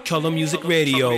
Color Music Radio.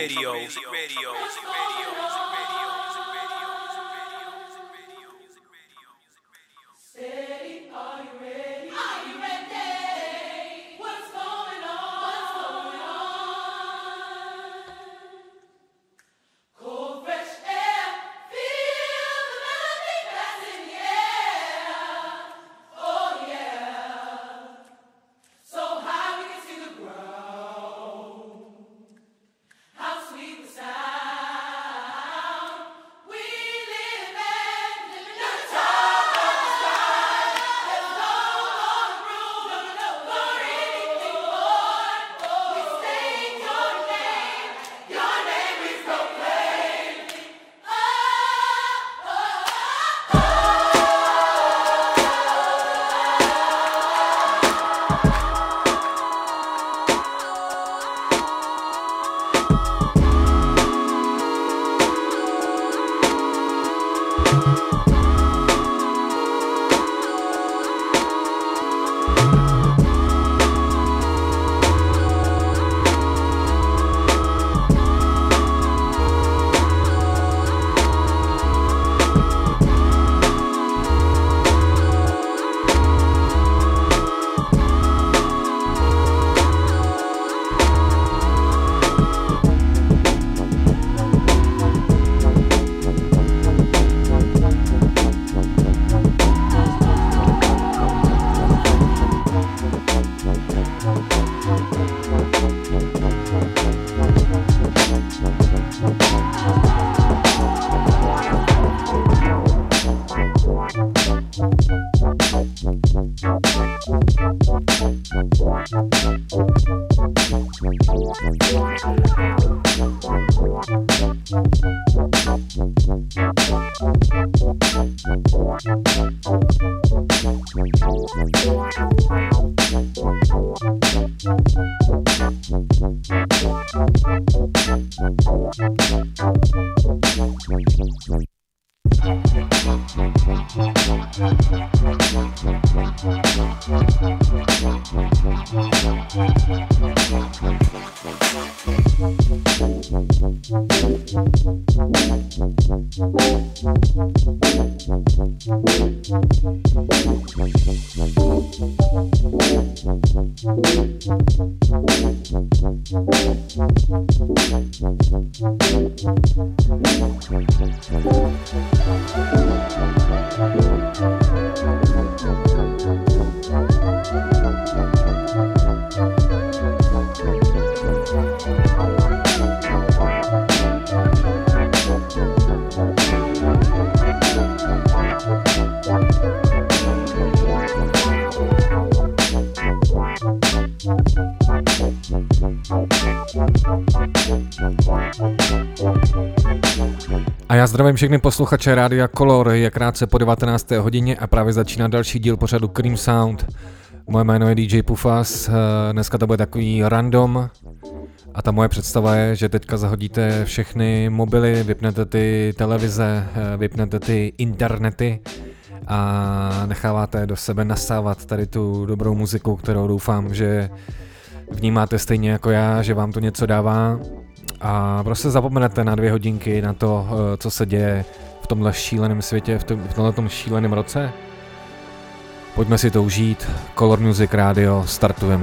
A já zdravím všechny posluchače Rádia Color, je krátce po 19. hodině a právě začíná další díl pořadu Cream Sound. Moje jméno je DJ Pufas, dneska to bude takový random a ta moje představa je, že teďka zahodíte všechny mobily, vypnete ty televize, vypnete ty internety a necháváte do sebe nasávat tady tu dobrou muziku, kterou doufám, že vnímáte stejně jako já, že vám to něco dává. A prostě zapomenete na 2 hodinky na to, co se děje v tomhle šíleném světě, v tomhletom šíleném roce. Pojďme si to užít. Color Music Radio, startujeme.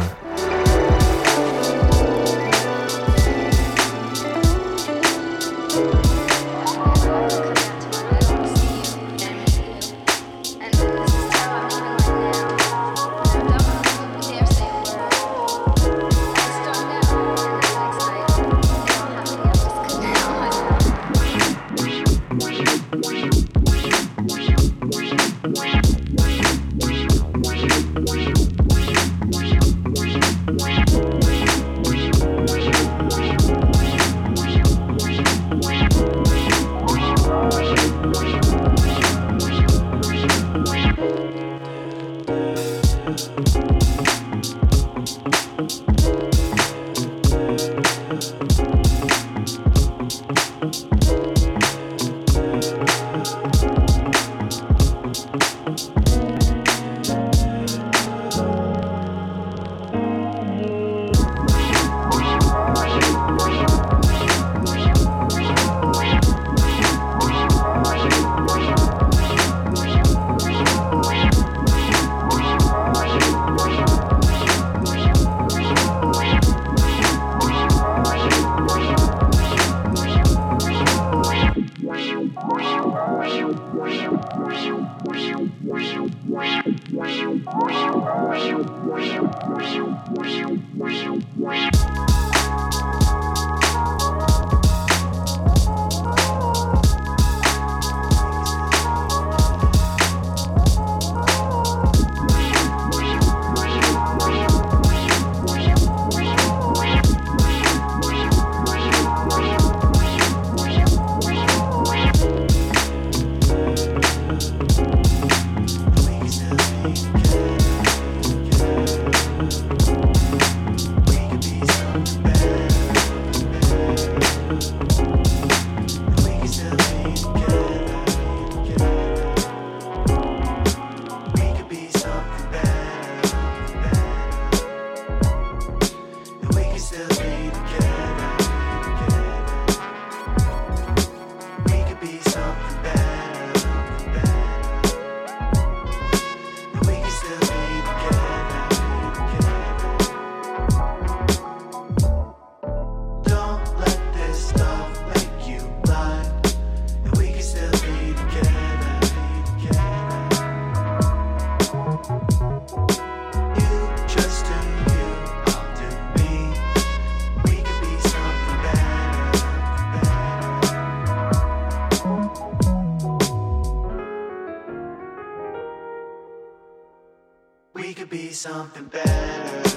Something better.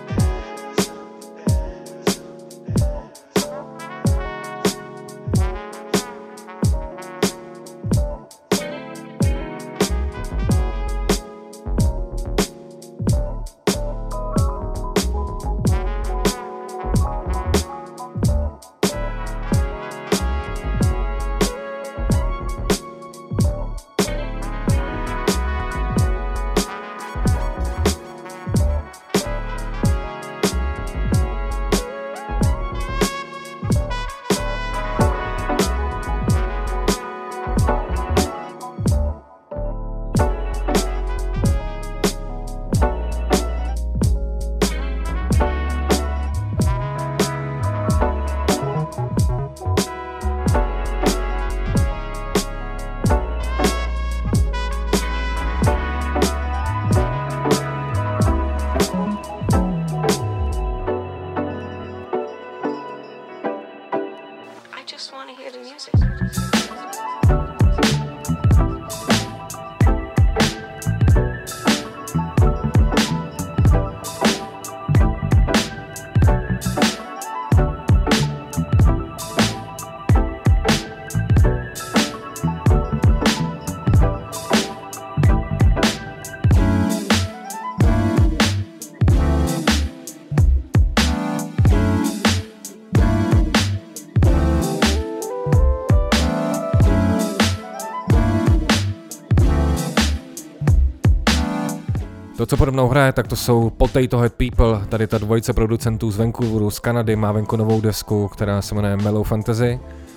To, co pode mnou hraje, tak to jsou Potato Head People, tady ta dvojice producentů z Vancouveru, z Kanady, má venku novou desku, která se jmenuje Mellow Fantasy.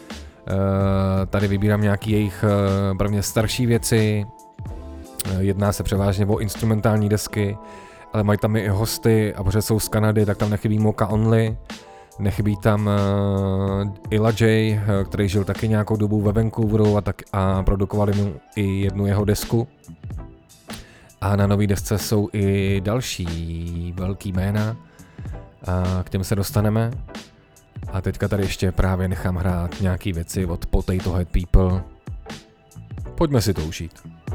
Tady vybírám nějaký jejich prvně starší věci, jedná se převážně o instrumentální desky, ale mají tam i hosty, a protože jsou z Kanady, tak tam nechybí Mocha Only, nechybí tam Illa J, který žil taky nějakou dobu ve Vancouveru a produkovali mu i jednu jeho desku. A na nový desce jsou i další velký jména, a k těm se dostaneme. A teďka tady ještě právě nechám hrát nějaký věci od Potato Head People. Pojďme si to užít.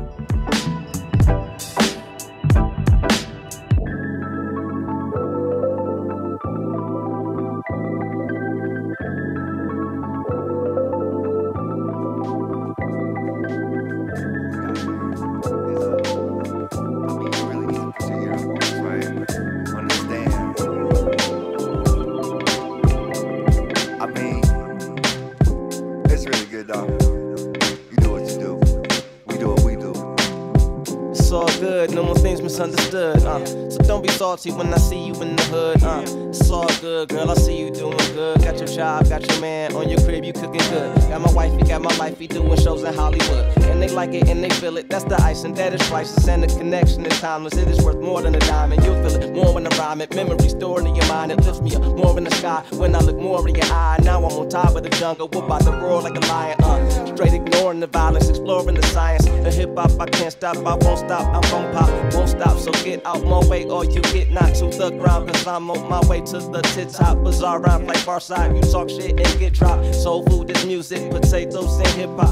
Misunderstood, so don't be salty when I see you in the hood, it's all good, girl, I see you doing good, got your job, got your man on your crib, you cooking good, got my wifey, got my lifey doing shows in Hollywood, and they like it and they feel it, that's the ice and that is priceless, and the connection is timeless, it is worth more than a dime, and you'll feel it more when I rhyme it, memory stored in your mind, it lifts me up more in the sky, when I look more in your eye, now I'm on top of the jungle, we're about to roar like a lion, straight ignoring the violence, exploring the science, the hip hop, I can't stop, I won't stop, I'm gon' pop, won't stop, so get out my way or more you get, not to the ground, cause I'm on my way to the tip top. Bizarre rhymes like Farside, you talk shit and get dropped. Soul food is music, potatoes and hip hop.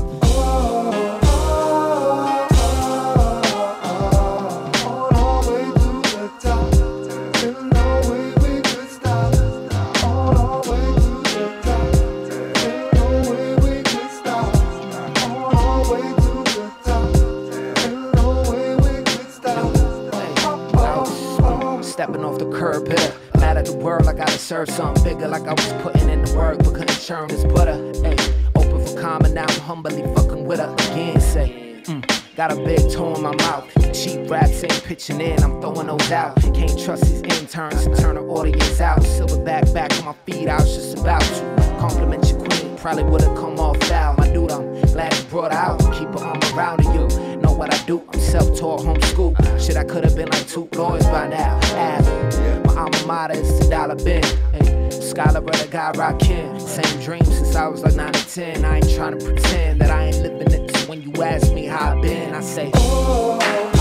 Stepping off the curb here, mad at the world, I gotta serve something bigger. Like I was putting in the work, but couldn't churn this butter. Ay, open for comment, now I'm humbly fucking with her again. Say, got a big toe in my mouth. Cheap raps ain't pitching in, I'm throwing those out. Can't trust these interns to turn the audience out. Silverback back on my feet, I was just about to compliment your queen. Probably would've come off foul. My dude, I'm glad you brought her out. Keep her arm around you. Know what I do? I'm self-taught, homeschool. Shit, I could've been like 2 lawyers by now. My alma mater is the dollar bin. Hey, scholar brother, guy rockin'. Same dream since I was like 9 or 10. I ain't trying to pretend that I ain't living it. So when you ask me how I been, I say, all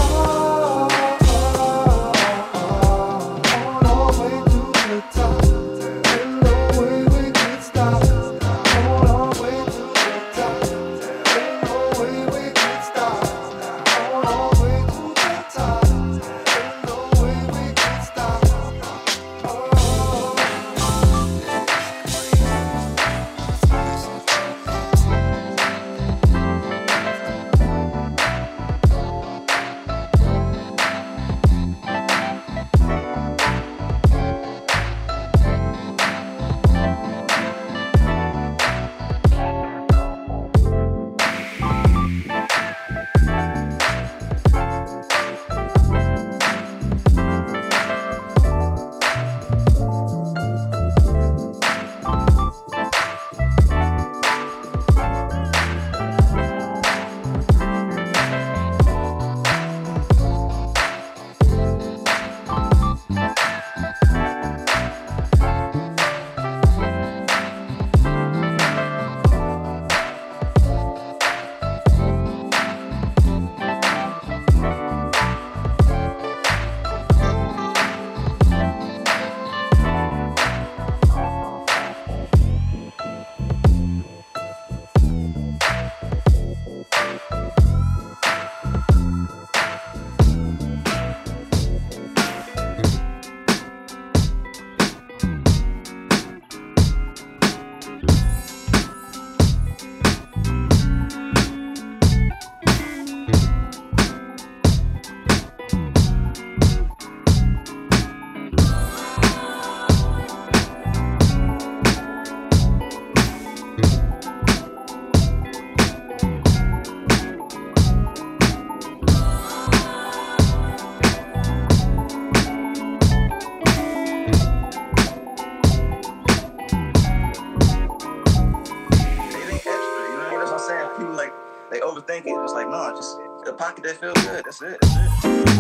the way to the top. Ain't no way we could stop. All the way to the top. Ain't no way we could stop. All the way to the top. Ain't no way we could stop. They overthink it. It's like, no, just a pocket that feels good. That's it. That's it.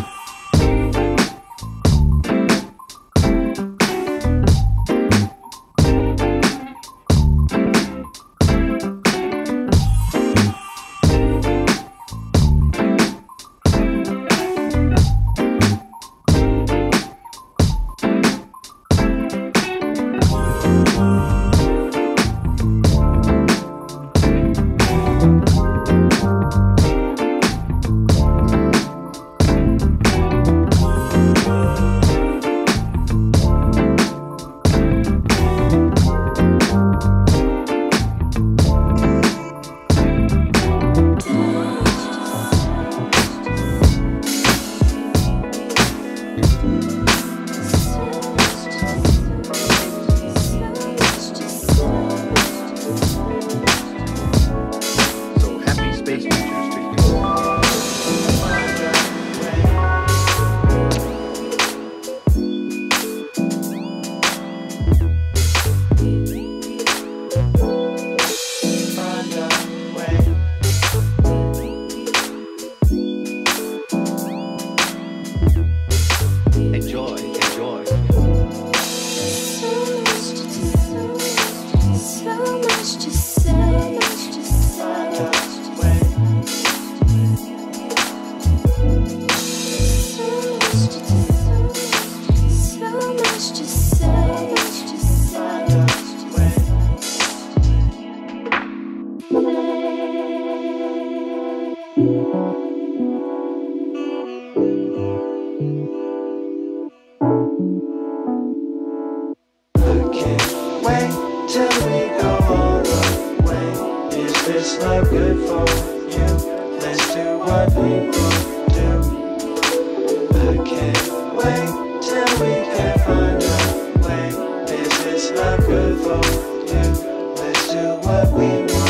wait till we go all the way. Is this love good for you? Let's do what we want to do. I can't wait till we can find a way. Is this love good for you? Let's do what we want to.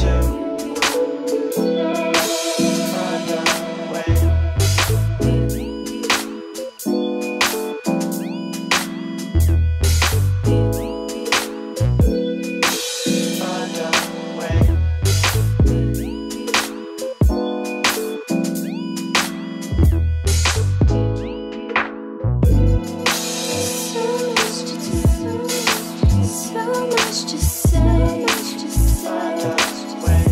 Find a way. Find a way. So much to say. Find a way.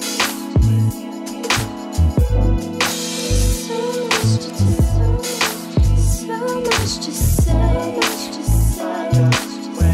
So much to say. Find a way.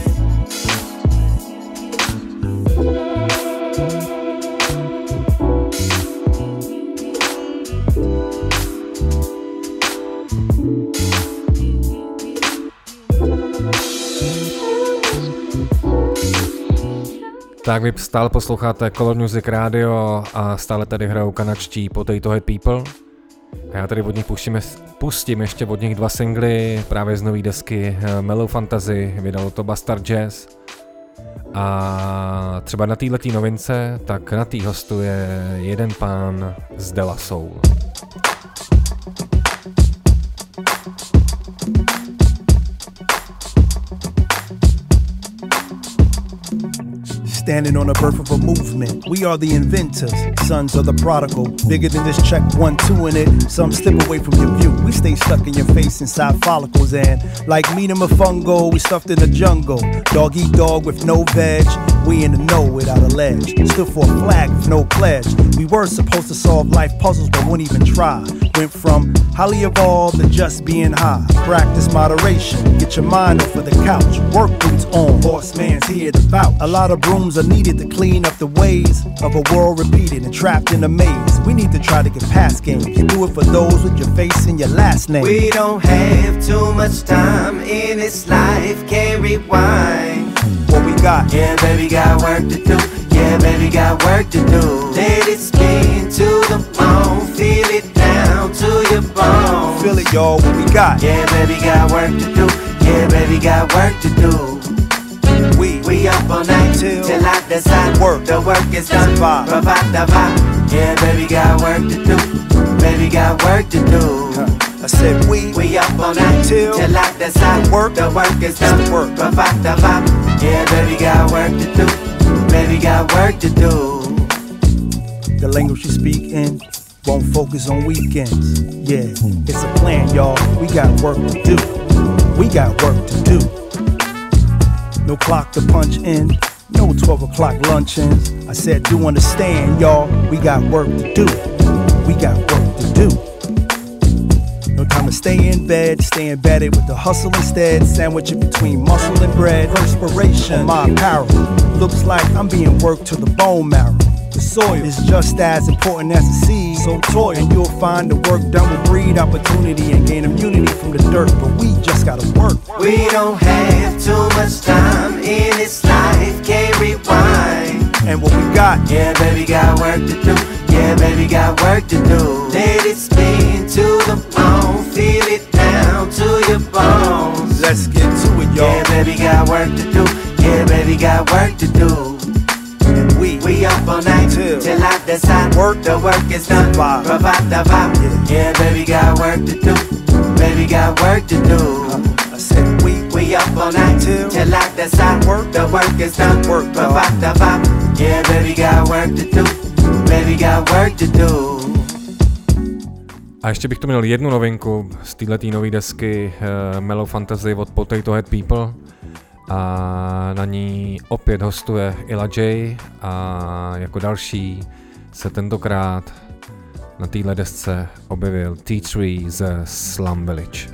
Tak vy stále posloucháte Color Music Radio a stále tady hrajou kanadští Potato Head People. A já tady od nich pustím ještě od nich 2 singly právě z nový desky Mellow Fantasy, vydalo to Bastard Jazz. A třeba na této novince, tak na tý hostuje jeden pán z De La Soul. Standing on the birth of a movement. We are the inventors, sons of the prodigal. Bigger than this check 1, 2 in it. Some slip away from your view. We stay stuck in your face inside follicles. And like meat and fungo, we stuffed in the jungle. Dog eat dog with no veg. We in the know without a ledge. Stood for a flag with no pledge. We were supposed to solve life puzzles but wouldn't even try. Went from highly evolved to just being high. Practice moderation. Get your mind off of the couch. Work boots on. Horseman's here to vouch. A lot of brooms are needed to clean up the ways of a world repeated and trapped in a maze. We need to try to get past games. Do it for those with your face and your last name. We don't have too much time in this life, can't rewind. What we got? Yeah, baby, got work to do. Yeah, baby, got work to do. Let it spin to the bone, feel it down to your bones. Feel it, y'all. What we got? Yeah, baby, got work to do. Yeah, baby, got work to do. We up all night till I decide work. The work is done. Provide the vibe. Yeah, baby, got work to do. Baby, got work to do. I said we up all night till I decide work. The work is done. Provide the vibe. Yeah, baby, got work to do. Baby, got work to do. The language you speak in won't focus on weekends. Yeah, it's a plan, y'all. We got work to do. We got work to do. No clock to punch in, no 12 o'clock luncheons. I said, do understand, y'all, we got work to do. We got work to do. No time to stay in bed, stay embedded with the hustle instead. Sandwich it between muscle and bread. Perspiration, my apparel. Looks like I'm being worked to the bone marrow. The soil is just as important as the seed. So toil, and you'll find the work done will breed opportunity and gain immunity from the dirt. But we just gotta work. We don't have too much time in this life, can't rewind. And what we got? Yeah, baby, got work to do. Yeah, baby, got work to do. Let it spin to the bone, feel it down to your bones. Let's get to it, y'all. Yeah, baby, got work to do. Yeah, baby, got work to do. And we up all night till I decide work. The work is done. Provide the vibe. Yeah, baby, got work to do. Baby, got work to do. I said we up all night till I decide work. The work is done. Work, provide the vibe. Yeah, baby, got work to do. Baby, got work to do. A ještě bych tu měl jednu novinku z této nové desky Mellow Fantasy od Potato Head People. A na ní opět hostuje Illa J a jako další se tentokrát na téhle desce objevil T3 ze Slum Village.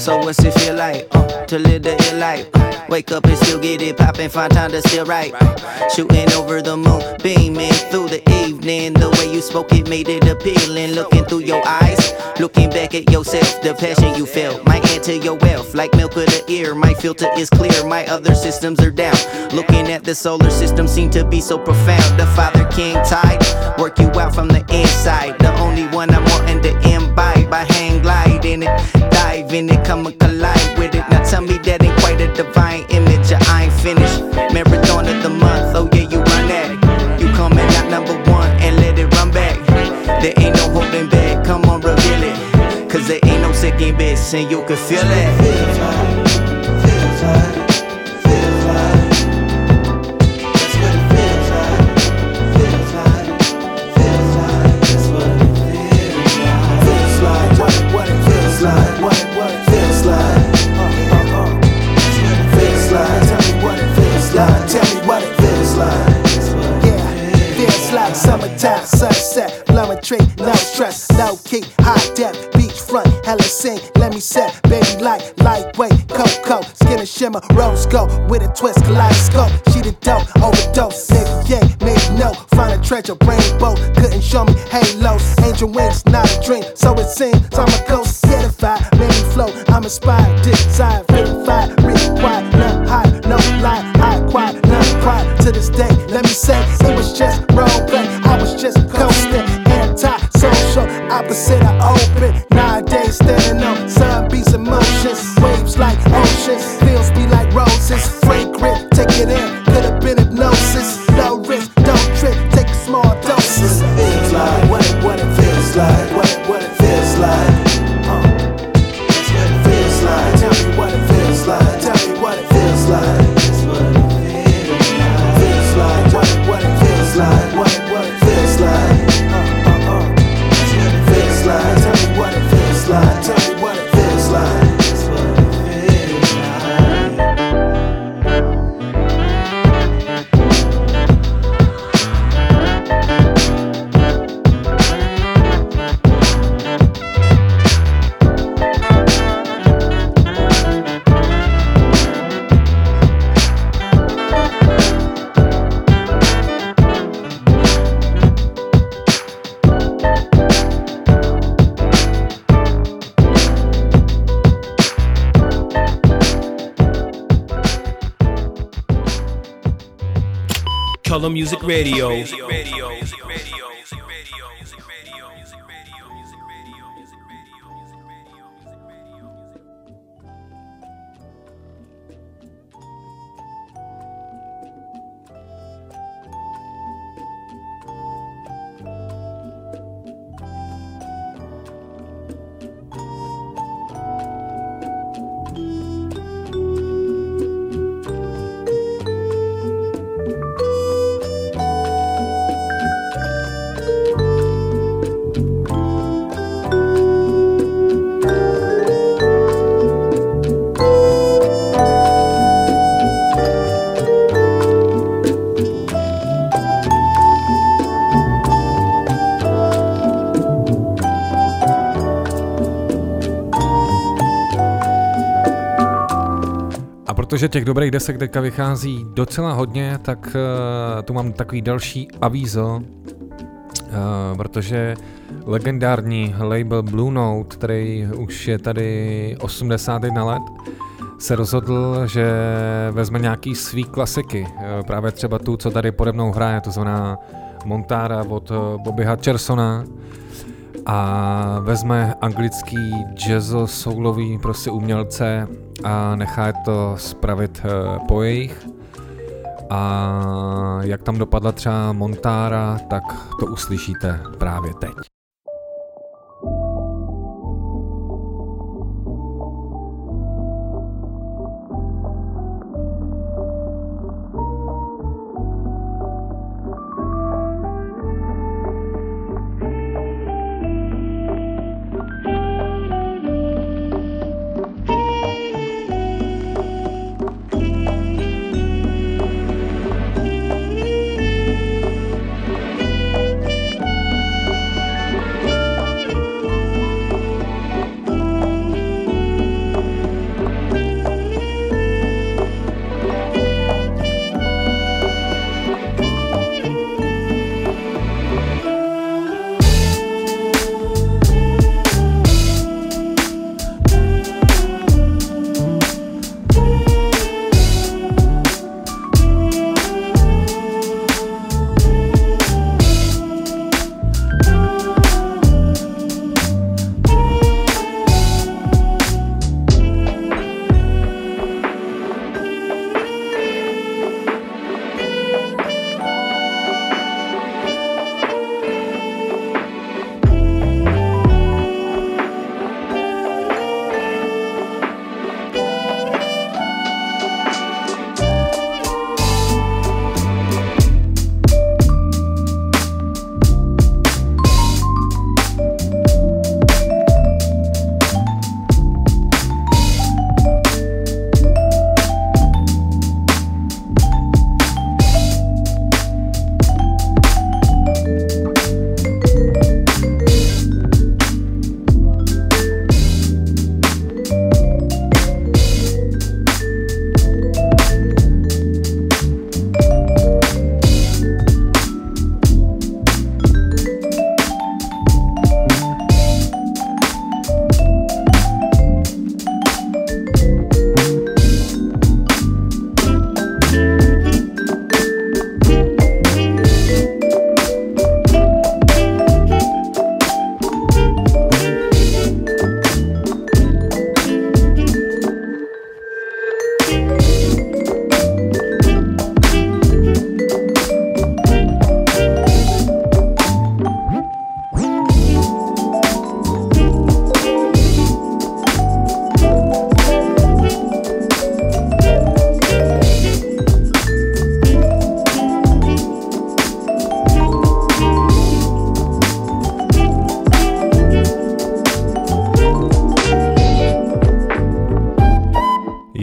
So what's it feel like to live the ill life? Wake up and still get it poppin', find time to still write. Shooting over the moon, beaming through the evening. The way you spoke it made it appealing. Looking through your eyes, looking back at yourself. The passion you felt might add to your wealth. Like milk of the ear, my filter is clear, my other systems are down. Looking at the solar system seem to be so profound. The Father King tide, work you out from the inside. The only one I'm wanting to imbibe. I hang glide in it, dive in it, come and collide with it. Now tell me that ain't quite a divine image. I ain't finished. Marathon of the month, oh yeah, you run that. You coming out number one and let it run back. There ain't no holding back, come on reveal it. Cause there ain't no second best and you can feel it. Feels like, feels like, feels like. That's what it feels like. Feels like, feels like. That's what it feels like. Feels like, what it feels like. What it feels like. Feels like. Tell me what it feels like. Tell me what it feels like. Yeah, feels like summertime, sunset, blowing tree, no stress, no key, high depth, beachfront, hella sing, let me set, baby lightweight, cocoa, skin and shimmer, rose gold, with a twist, kaleidoscope, she the dope, overdose, nigga, yeah, maybe no, find a treasure, rainbow, couldn't show me halos, angel wings, not a dream, so it seems, I'm a ghost, certified, made me flow, I'm inspired, desire, verified, required, none high, no lie, high, quiet, none pride, to this day, let me say, it was just role play, I was just coasting, anti-social, opposite of open, nowadays standing on sunbeams emotions, waves like oceans, feels be like roses, fragrant, take it in, could've been hypnosis, no risk, don't trip, take small doses. Feels like, what it feels like, what it feels like, that's what it feels like, tell me what it feels like, tell me what it feels like, that's what it feels like, what it feels like, what it feels like, feels like, tell me what it feels like, tell me what it feels like, that's what it feels Color Music Radio. Protože těch dobrých desek teďka vychází docela hodně, tak tu mám takový další avízo, protože legendární label Blue Note, který už je tady 81 let, se rozhodl, že vezme nějaký svý klasiky, právě třeba tu, co tady pode mnou hraje, to znamená Montara od Bobby Hutchersona, a vezme anglický jazzo-soulový prostě umělce a nechá to spravit po jejich. A jak tam dopadla třeba Montara, tak to uslyšíte právě teď.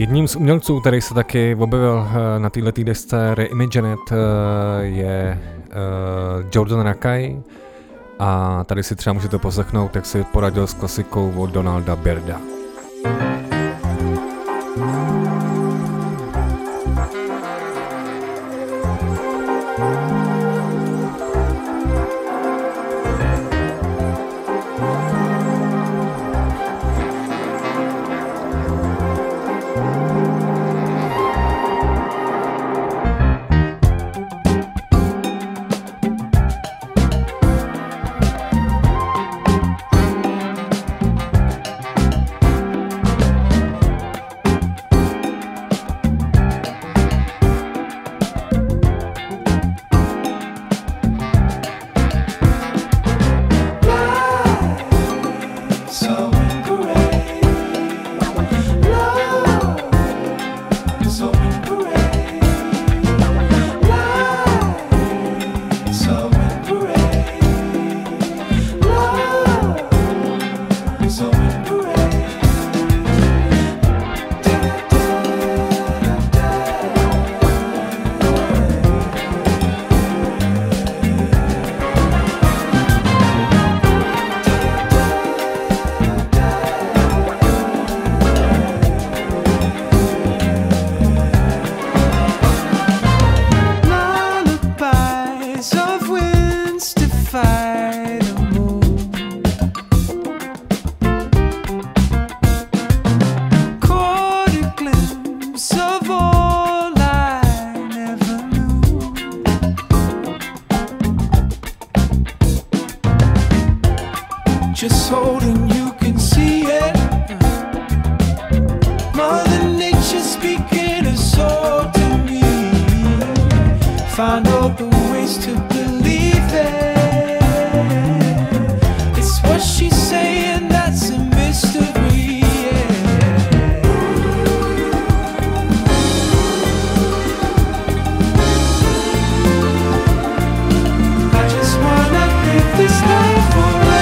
Jedním z umělců, který se taky objevil na této desce Reimagined, je Jordan Rakei. A tady si třeba můžete poslechnout, jak si poradil s klasikou od Donalda Byrda. Just holding, you can see it. Mother Nature speaking a soul to me. Find all the ways to believe it. It's what she's saying, that's a mystery. I just wanna live this life forever.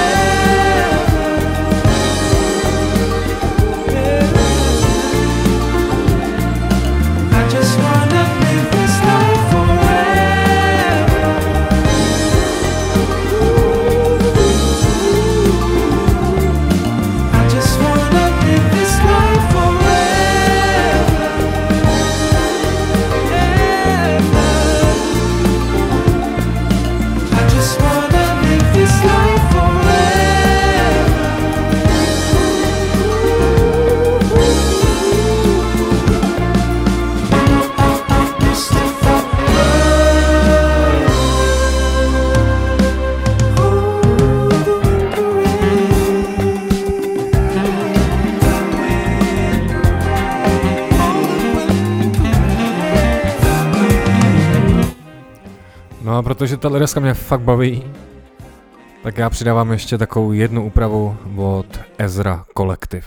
No a protože ta deska mě fakt baví, tak já přidávám ještě takovou jednu úpravu od Ezra Collective.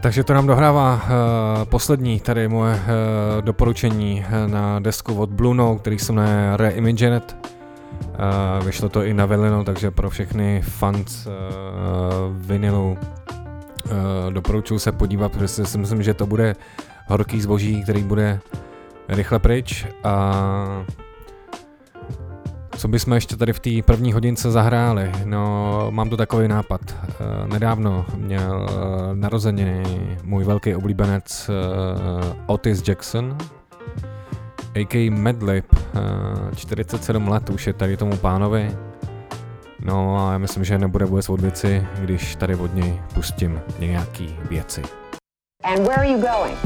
Takže to nám dohrává poslední tady moje doporučení na desku od Blue Note, který se jmenuje Reimagined. Vyšlo to i na vinylu, takže pro všechny fans vinylu doporučuji se podívat, protože si myslím, že to bude horký zboží, který bude rychle pryč. A co bychom ještě tady v té první hodince zahráli? No, mám tu takový nápad. Nedávno měl narozeniny můj velký oblíbenec Otis Jackson, a.k.a. Madlib, 47 let už je tady tomu pánovi. No a já myslím, že nebude vůbec od věci, když tady od něj pustím nějaký věci. And where are you going?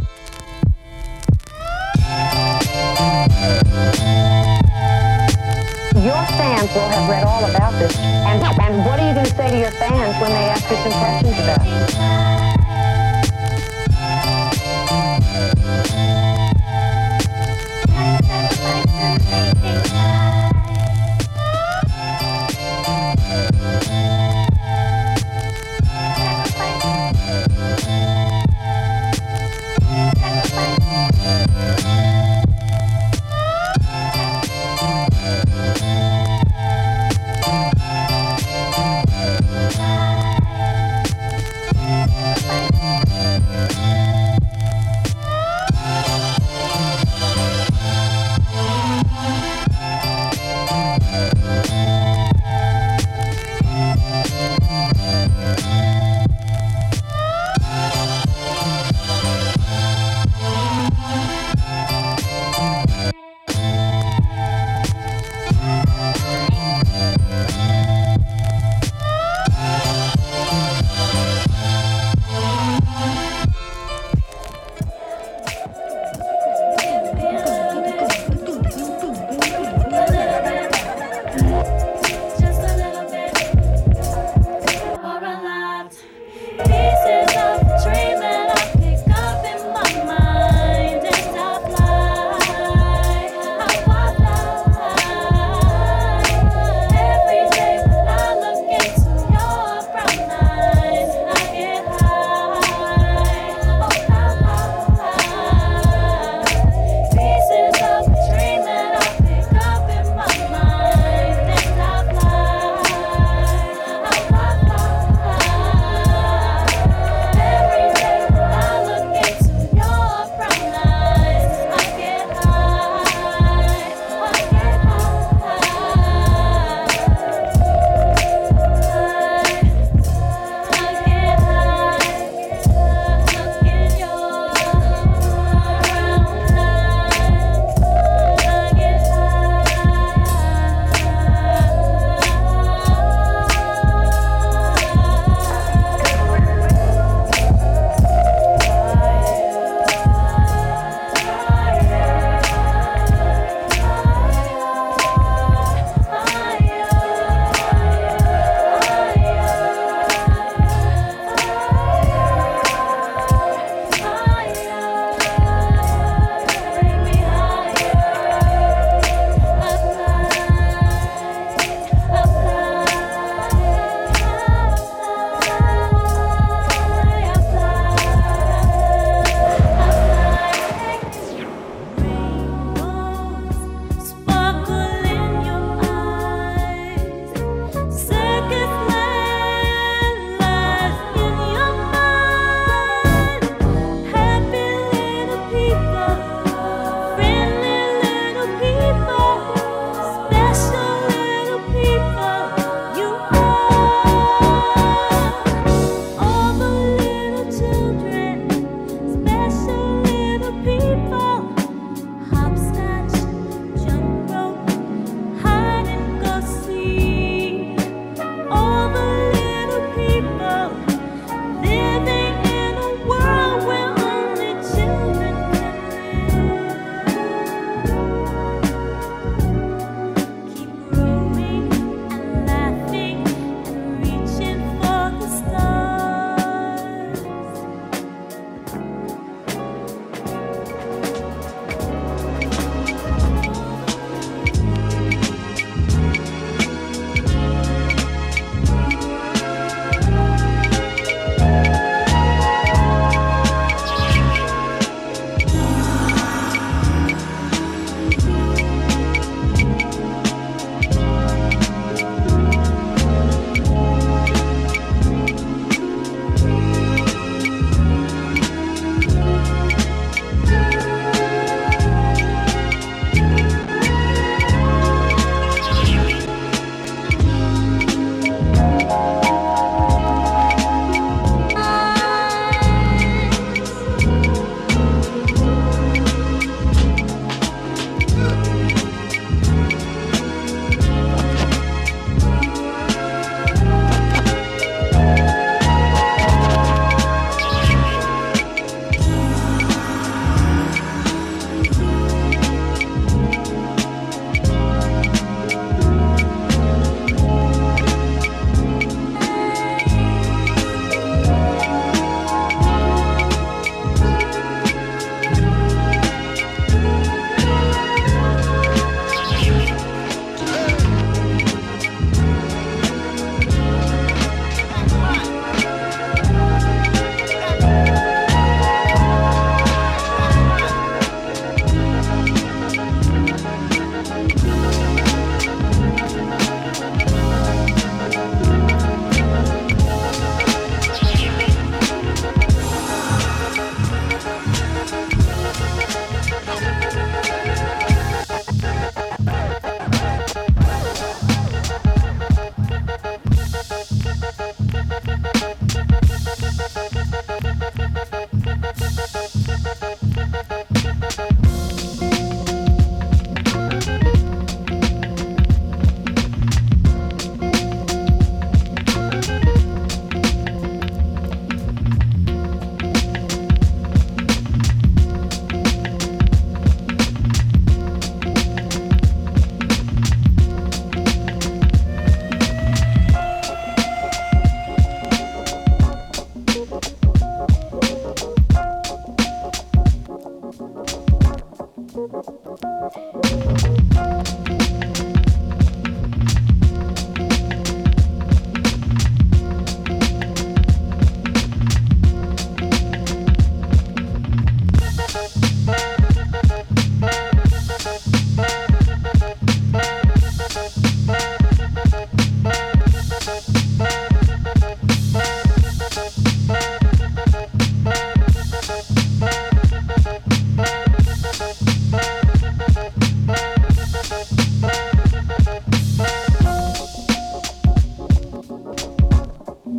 Your fans will have read all about this. And what are you going to say to your fans when they ask you some questions about it?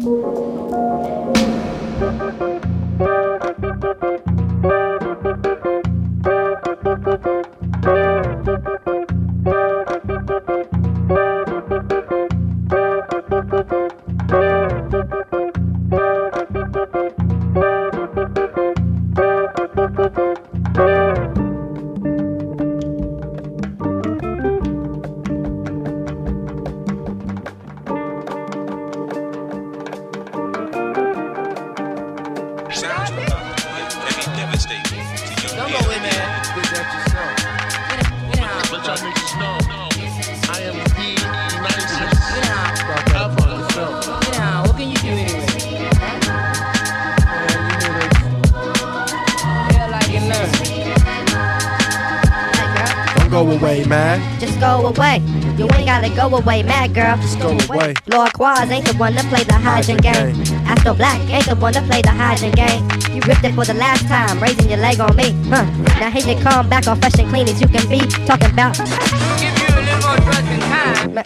Go away, mad girl. Just go away. Lord Quaz ain't the one to play the hydrogen game. Astro Black ain't the one to play the hydrogen game. You ripped it for the last time, raising your leg on me. Now here you come back all fresh and clean as you can be. Talking about. Give you a little more trust and time.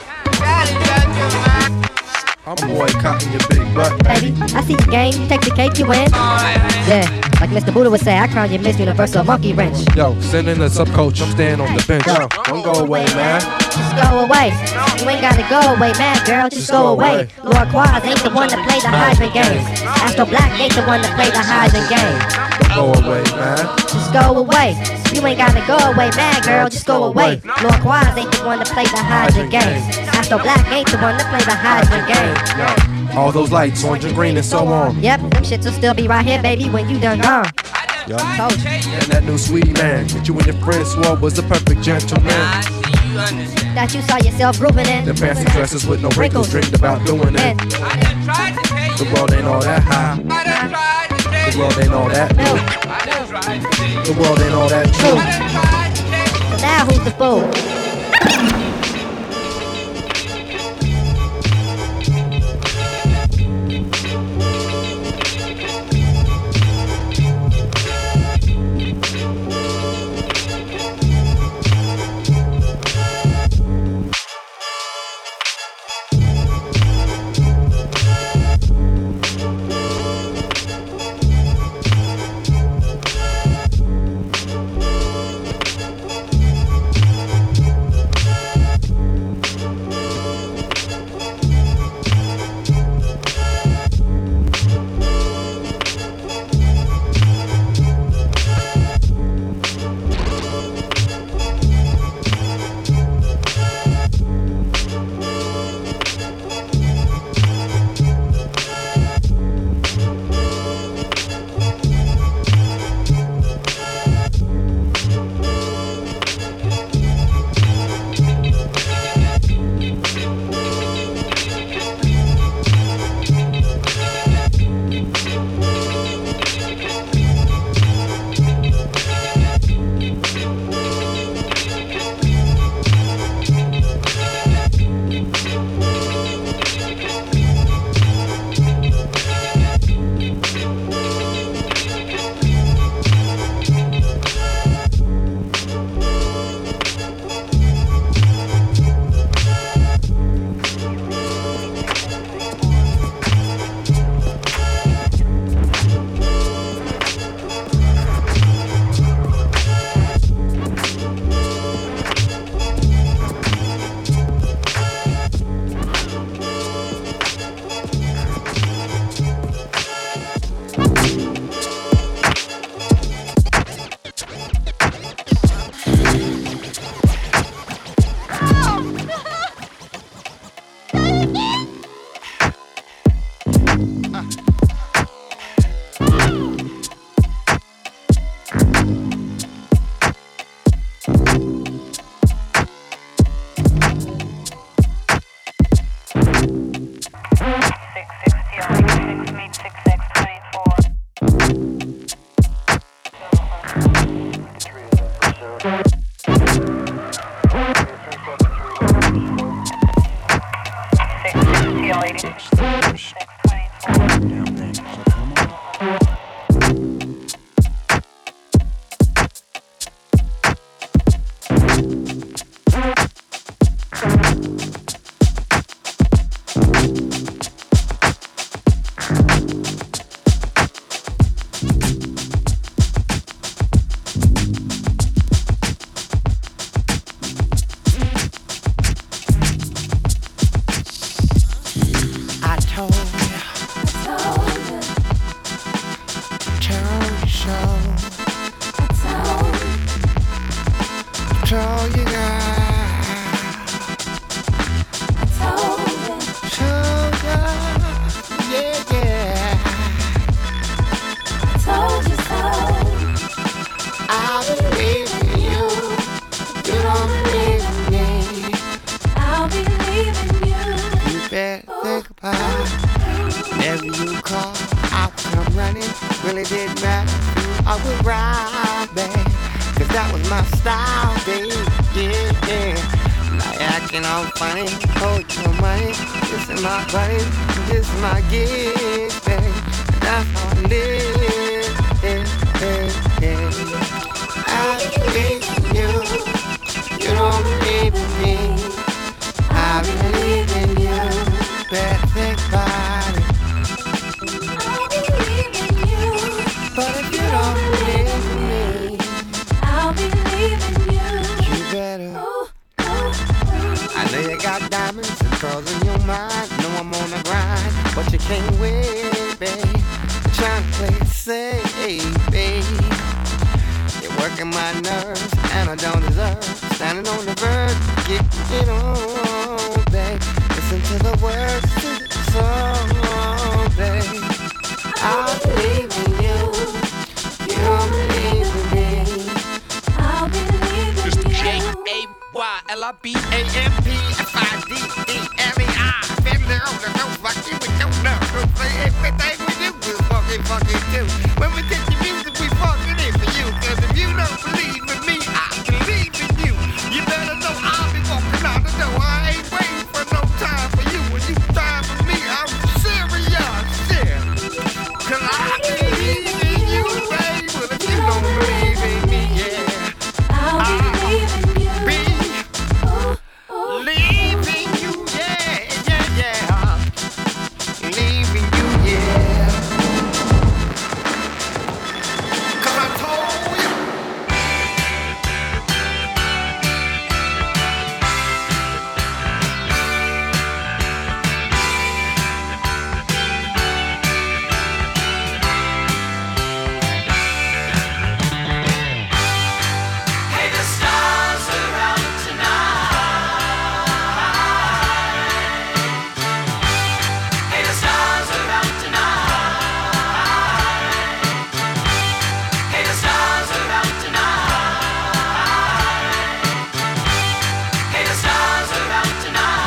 I'm boycotting your big butt, baby. I see your game, take the cake, you win. Yeah, like Mr. Buddha would say, I crown you Miss Universal Monkey Wrench. Yo, send in the sub-coach, I'm staying on the bench. Yo, don't go away, man. Just go away. You ain't gotta go away, man, girl, just go away. Lord Quaz ain't the one to play the hydrant game. Astro Black ain't the one to play the hydrant game. Go away, man. Just go away. You ain't gotta go away, man, girl, just go away. Lord Quaz ain't the one to play the hydrant game. Astro Black ain't the one to play the hydrant game. Yo, all those lights, orange and green and so on. Yep, them shits will still be right here, baby, when you done gone. Yo, and that new sweet man that you and your friends swore was the perfect gentleman. That you saw yourself grooving in. The fancy dresses with no wrinkles, dreamed about doing it. The world ain't all that high. The world ain't all that new. The world ain't all that true. So now who's the fool? Whenever you call, I'll come running. Really didn't matter who I would ride, babe. Cause that was my style, babe. Yeah, yeah. Like acting all funny, hold your money. This is my buddy, this is my gig, babe. That's how I live, yeah, yeah, yeah. I believe in you, you don't believe in me. I believe in you, better think about it. I believe in you, but if you don't believe in me, I'll believe in you. You better. I know you got diamonds and pearls in your mind. Know I'm on the grind, but you can't win, babe. I'm trying to play it safe, babe. You're working my nerves, and I don't deserve standing on the verge. Get it on, babe. Listen to the words to the song, babe. I believe in you. You don't believe in me. I believe in you. J-A-Y-L-I-B-A-M-P-F-I-D-E-M-E-I. Family on the no fucking we don't know. Say everything we do, we'll fucking do. When we get the music, we fucking it for you. Cause if you don't believe in me, I believe in you. You better know I'll be walking out the door. I ain't waiting for no time for you. When you time for me, I'm serious, yeah. Cause I believe in you, babe. Well, if you don't believe in me, yeah, I'll believe in you. Believe in you, yeah, yeah, yeah. Believe in you, yeah. Cause I told you. Hey, the stars are out tonight. Hey, the stars are out tonight. Hey, the stars are out tonight. Hey, the stars are out tonight.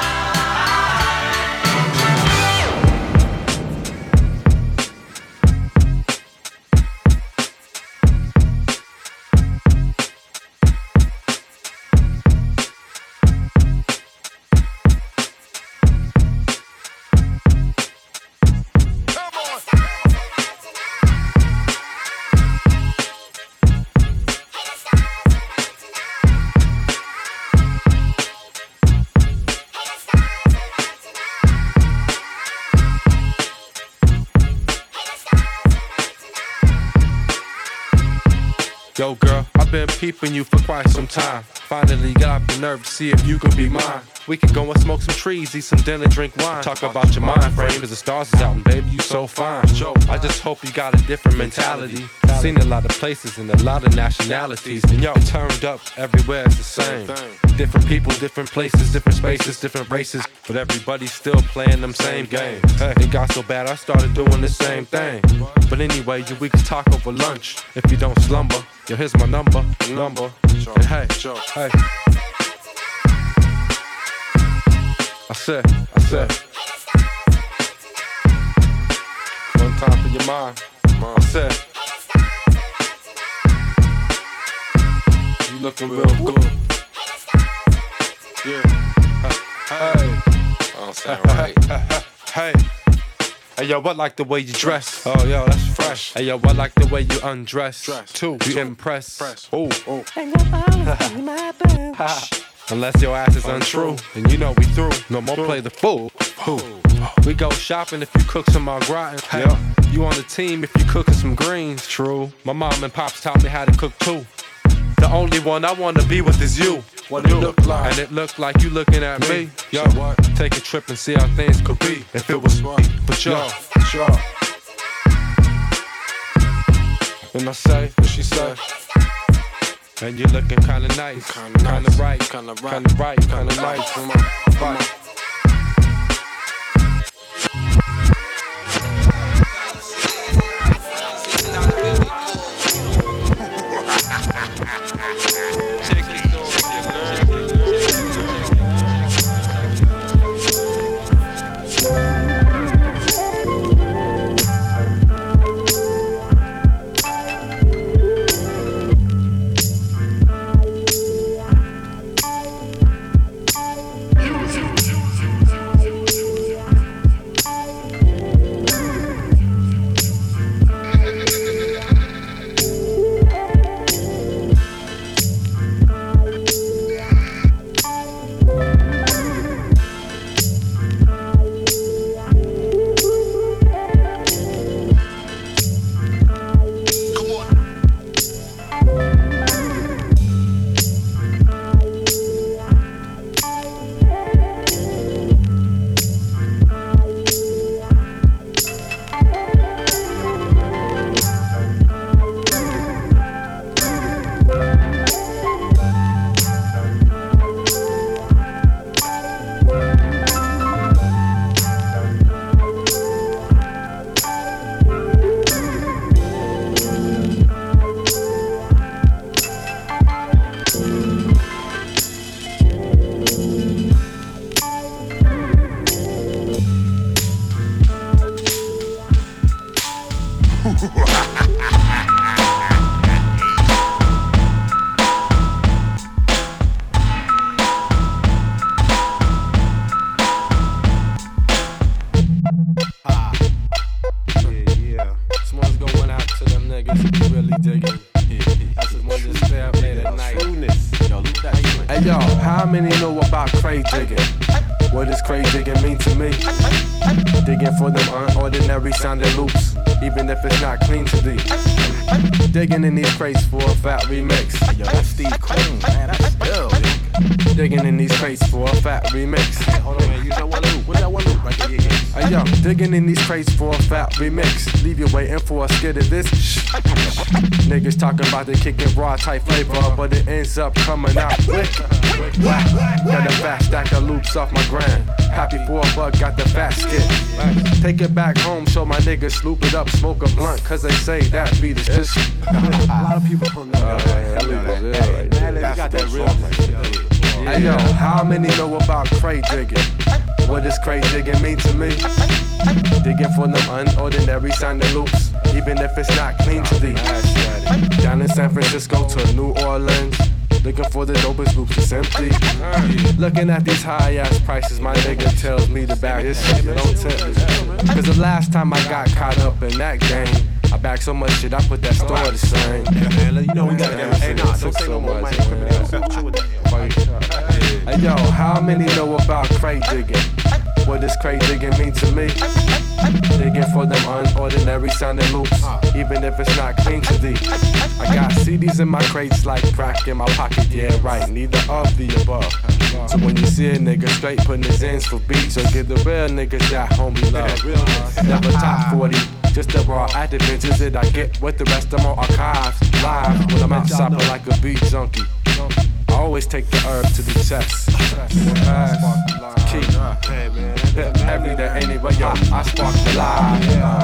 Yo, girl, I've been peeping you for quite some time. Finally got up the nerve to see if you could be mine. We can go and smoke some trees, eat some dinner, drink wine. Talk about your mind frame, cause the stars is out and baby, you so fine. I just hope you got a different mentality. Seen a lot of places and a lot of nationalities. And yo, turned up everywhere, it's the same. Different people, different places, different spaces, different races. But everybody's still playing them same games. Hey, it got so bad I started doing the same thing. But anyway, we can talk over lunch if you don't slumber. Yo, here's my number. And hey, hey. I said. One time for your mind. I said. You looking real good. Yeah. Hey. I don't sound right. Hey. Hey yo, I like the way you dress. Oh yo, that's fresh. Hey yo, I like the way you undress. Too. You impress. Ooh. Unless your ass is untrue, then you know we through. No more play the fool. We go shopping if you cook some au gratin. Hey, you on the team if you cooking some greens. True. My mom and pops taught me how to cook too. The only one I wanna be with is you. What it look like? And it looked like you looking at me. Yo, take a trip and see how things could be if it was me. But yo, sure. And I say, what she say? And you looking kinda nice, kinda right, kinda nice. Come on, right. crate digging. What does crate digging mean to me? Digging for them unordinary sounding loops, even if it's not clean to thee. Digging in these crates for a fat remix. Yo, that's Steve Queen, man, that's ill. Digging in these crates for a fat remix. Hey, hold on, man, use that one loop. What's that one loop right there? Yeah. Hey, yo, digging in these crates for a fat remix. Leave you waiting for a skid of this. Niggas talking about they kicking raw type flavor, but it ends up coming out quick. Got a fat stack of loops off my gram. Happy for a buck, got the fat skit. Take it back home, show my niggas sloop it up, smoke a blunt, cause they say that beat is just. A lot of people from there. They got that real. Hey yo, how many know about crate digging? What does crate digging mean to me? Digging for them unordinary sounding loops, even if it's not clean to thee. Down in San Francisco to New Orleans, looking for the dopest loops is empty. Looking at these high ass prices, my nigga tells me to back this shit, don't tempt me. Cause the last time I got caught up in that game, I backed so much shit, I put that store the same. You know we gotta get. Hey, nah, don't say no more money. Hey yo, how many know about crate digging? What does crate digging mean to me? Digging for them unordinary sounding loops, even if it's not clean to thee. I got CDs in my crates like crack in my pocket, yeah right, neither of the above. So when you see a nigga straight putting his ends for beats, so give the real niggas that homie love. Never top 40, just the raw adventures that I get with the rest of my archives. Live when I'm out shopping like a beat junkie. I always take the herb to the chest. Keep every day anyway, yo, I spark the live.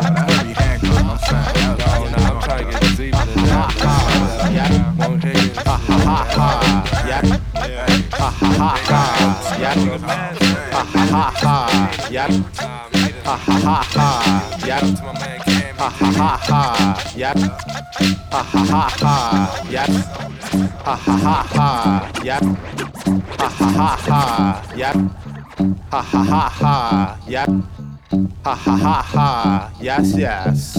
I'm trying to get deeper than that. Won't hit it. Yes.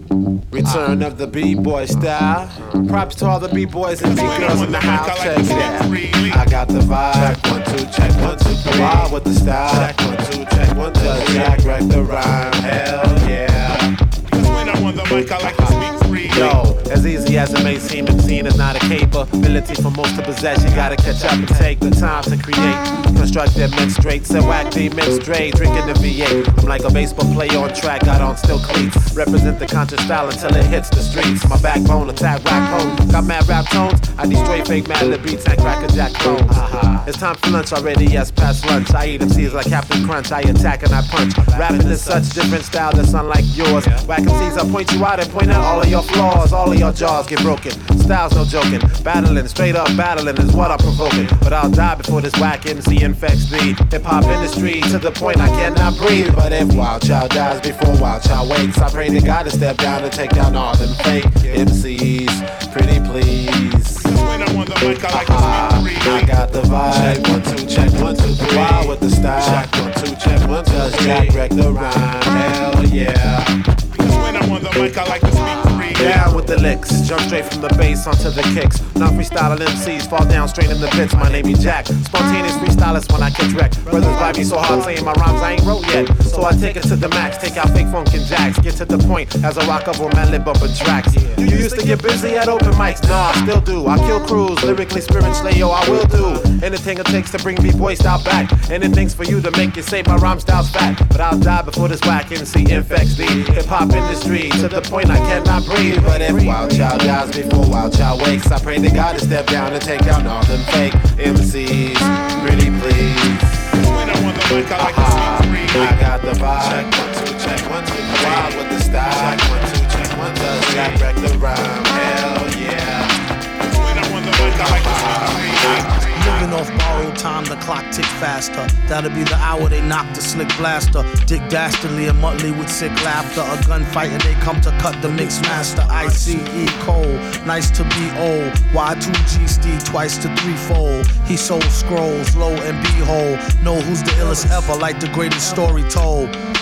Return of the B-boy style. Props to all the B-boys and B-girls in the house. Check it out. I got the vibe. Check 1 2 check 1 2 3. Wild with the style. Check 1 2 check 1 2 3. Jack wreck the rhyme. Hell yeah. When I'm on the mic, I like to speak free. Yo, as easy as it may seem, MCing is not a capability for most to possess. You gotta catch up and take the time to create. Construct them mixed straight, so whack the mixed straight. Drinking the V8. I'm like a baseball player on track, got on still cleats. Represent the conscious style until it hits the streets. My backbone, attack rap home. Got mad rap tones, I need straight fake mad lip beats and cracker jack clones. It's time for lunch already, yes, past lunch. I eat MCs like Captain Crunch, I attack and I punch. Rapping is such different style that's unlike yours. Whack MCs, I point you out and point out all of your flaws. All of your jaws get broken, style's no joking. Battling, straight up battling is what I'm provoking. But I'll die before this whack MC infects the hip-hop industry to the point I cannot breathe. But if Wild Child dies before Wild Child wakes, I pray to God to step down and take down all them fake MCs. Pretty please. When I'm on the mic, I like to speak free. I got the vibe. Check 1 2 check 1 2 3. Wild with the style. Check 1 2 check 1 2 3. Just Jack wreck the rhyme. Hell yeah. When I'm on the mic, I like to speak free. Down with the licks, jump straight from the bass onto the kicks. Not freestyling MCs, fall down straight in the pits. My name is Jack, spontaneous freestylist when I catch wreck. Brothers vibe me so hard saying my rhymes I ain't wrote yet. So I take it to the max, take out fake funk and jacks. Get to the point as I rock up on my lip bumping tracks. You used to get busy at open mics, nah, I still do. I kill crews, lyrically, spiritually, yo, I will do anything it takes to bring B-boy style back. Anything's for you to make you say my rhyme style's fat. But I'll die before this whack MC infects the hip-hop industry to the point I cannot breathe. But if Wild Child dies before Wild Child wakes, I pray to God to step down and take down all them fake MCs. Pretty please. When I'm on the mic, I like to speak free. I got the vibe. Check 1 2 check 1 2 3. Wild with the style. Check 1 2 check 1 2 3. Jack wreck the rhyme. Hell yeah. When I'm on the mic, I like to speak free. Living off borrowed time, the clock tick faster. That'll be the hour they knock the slick blaster. Dick Dastardly and Muttley with sick laughter. A gunfight and they come to cut the mix master. ICE Cole, nice to be old. Y2G Steve twice to threefold. He sold scrolls, low and behold. Know who's the illest ever, like the greatest story told.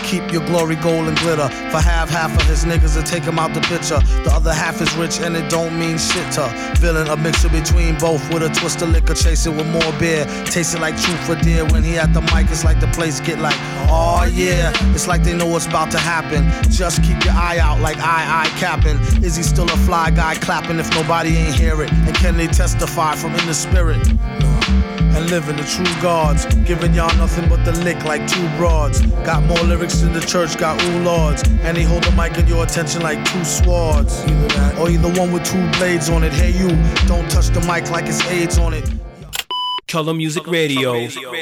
keep your glory gold and glitter. For half of his niggas to take him out the picture. The other half is rich and it don't mean shit to villain. A mixture between both with a twist of liquor, chasing with more beer. Tasting like truth for dear. When he at the mic, it's like the place get like, oh yeah. It's like they know what's about to happen. Just keep your eye out like I capping. Is he still a fly guy clapping if nobody ain't hear it? And can they testify from in the spirit? And living the true gods, giving y'all nothing but the lick like two broads. Got more lyrics than the church got ooh lords. And he hold the mic in your attention like two swords. Either that, or either one with two blades on it. Hey you, don't touch the mic like it's AIDS on it. Color Music Radio.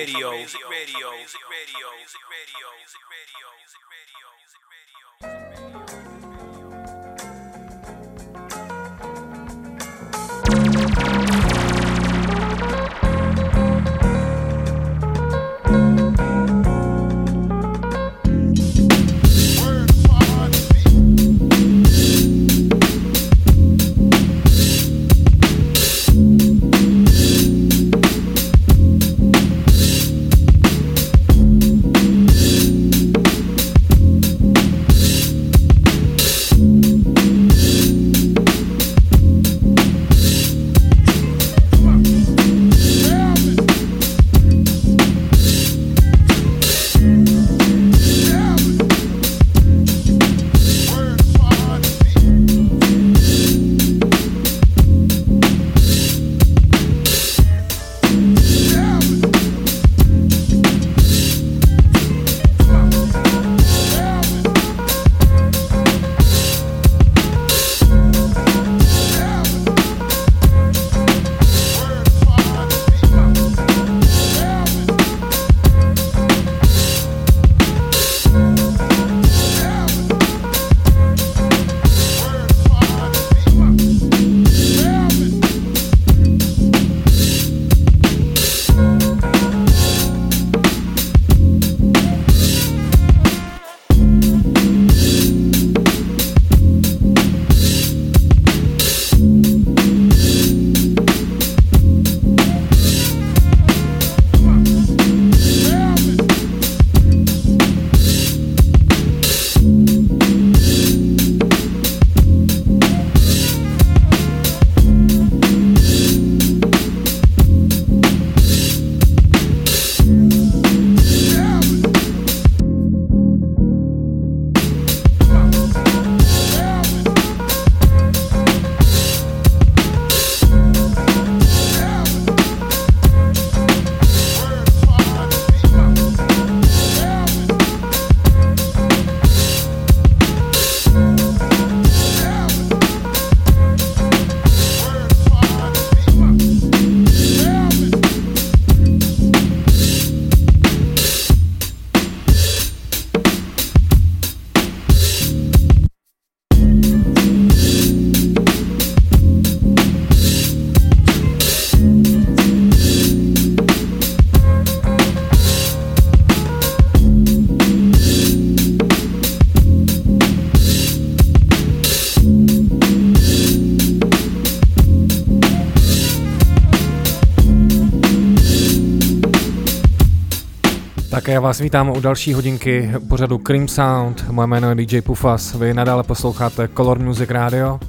Tak já vás vítám u další hodinky pořadu Cream Sound. Moje jméno je DJ Pufas, vy nadále posloucháte Color Music Radio.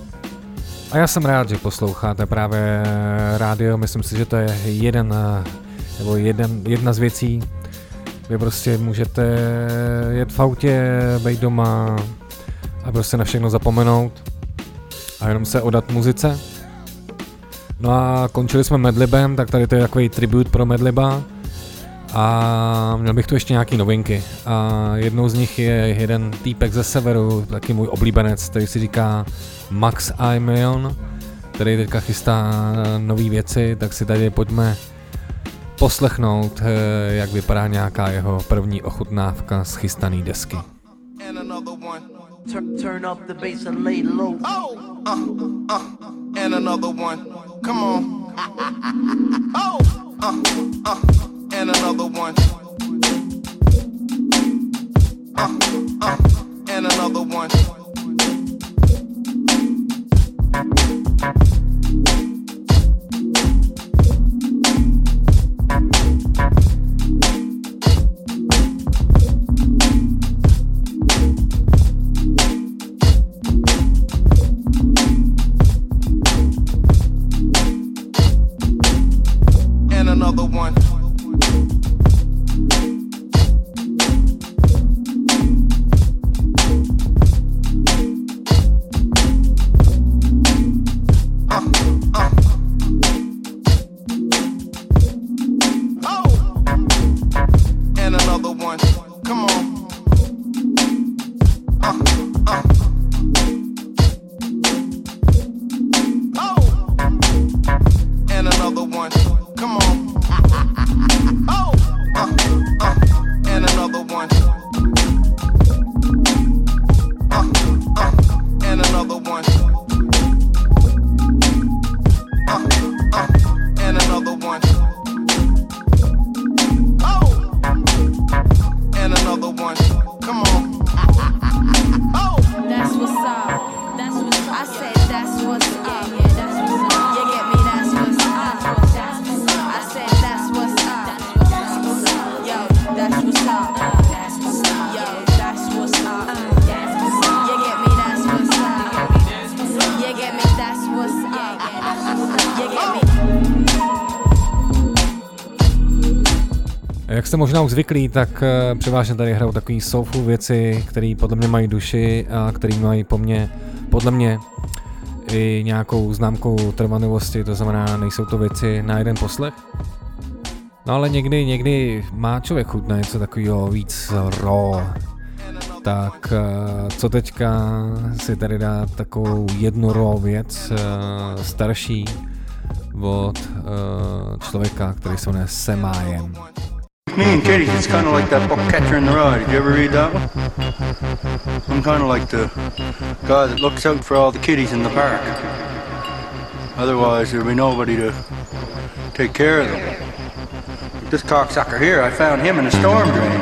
A já jsem rád, že posloucháte právě rádio, myslím si, že to je jedna z věcí. Vy prostě můžete jet v autě, být doma a prostě na všechno zapomenout a jenom se odat muzice. No a končili jsme Madlibem, tak tady to je takový tribut pro Madliba. A měl bych tu ještě nějaký novinky. A jednou z nich je jeden týpek ze severu, taky můj oblíbenec, který si říká Max Imion, který teďka chystá nový věci, tak si tady pojďme poslechnout, jak vypadá nějaká jeho první ochutnávka z chystaný desky. Turn up the bass and lay low. And another one. Come on. And another one. And another one. one. Come on. That's what's up. That's what's up. I said that's what's up. Yeah, that's what's up. You get me? That's what's up. I said that's what's up. Yo, that's what's up. Yo, that's what's up. You get me? That's what's up. You get me? That's what's up. You get me? Jak jste možná už zvyklí, tak převážně tady hrajou takový soulful věci, které podle mě mají duši a které mají podle mě i nějakou známkou trvanlivosti, to znamená, nejsou to věci na jeden poslech. No ale někdy má člověk chuť na něco takového víc raw. Tak co teďka si tady dát takovou jednu raw věc starší od člověka, který se jmenuje Semajem. Me and kitties, it's kind of like that book Catcher in the Rye. Did you ever read that one? I'm kind of like the guy that looks out for all the kitties in the park. Otherwise, there'll be nobody to take care of them. This cocksucker here, I found him in a storm drain.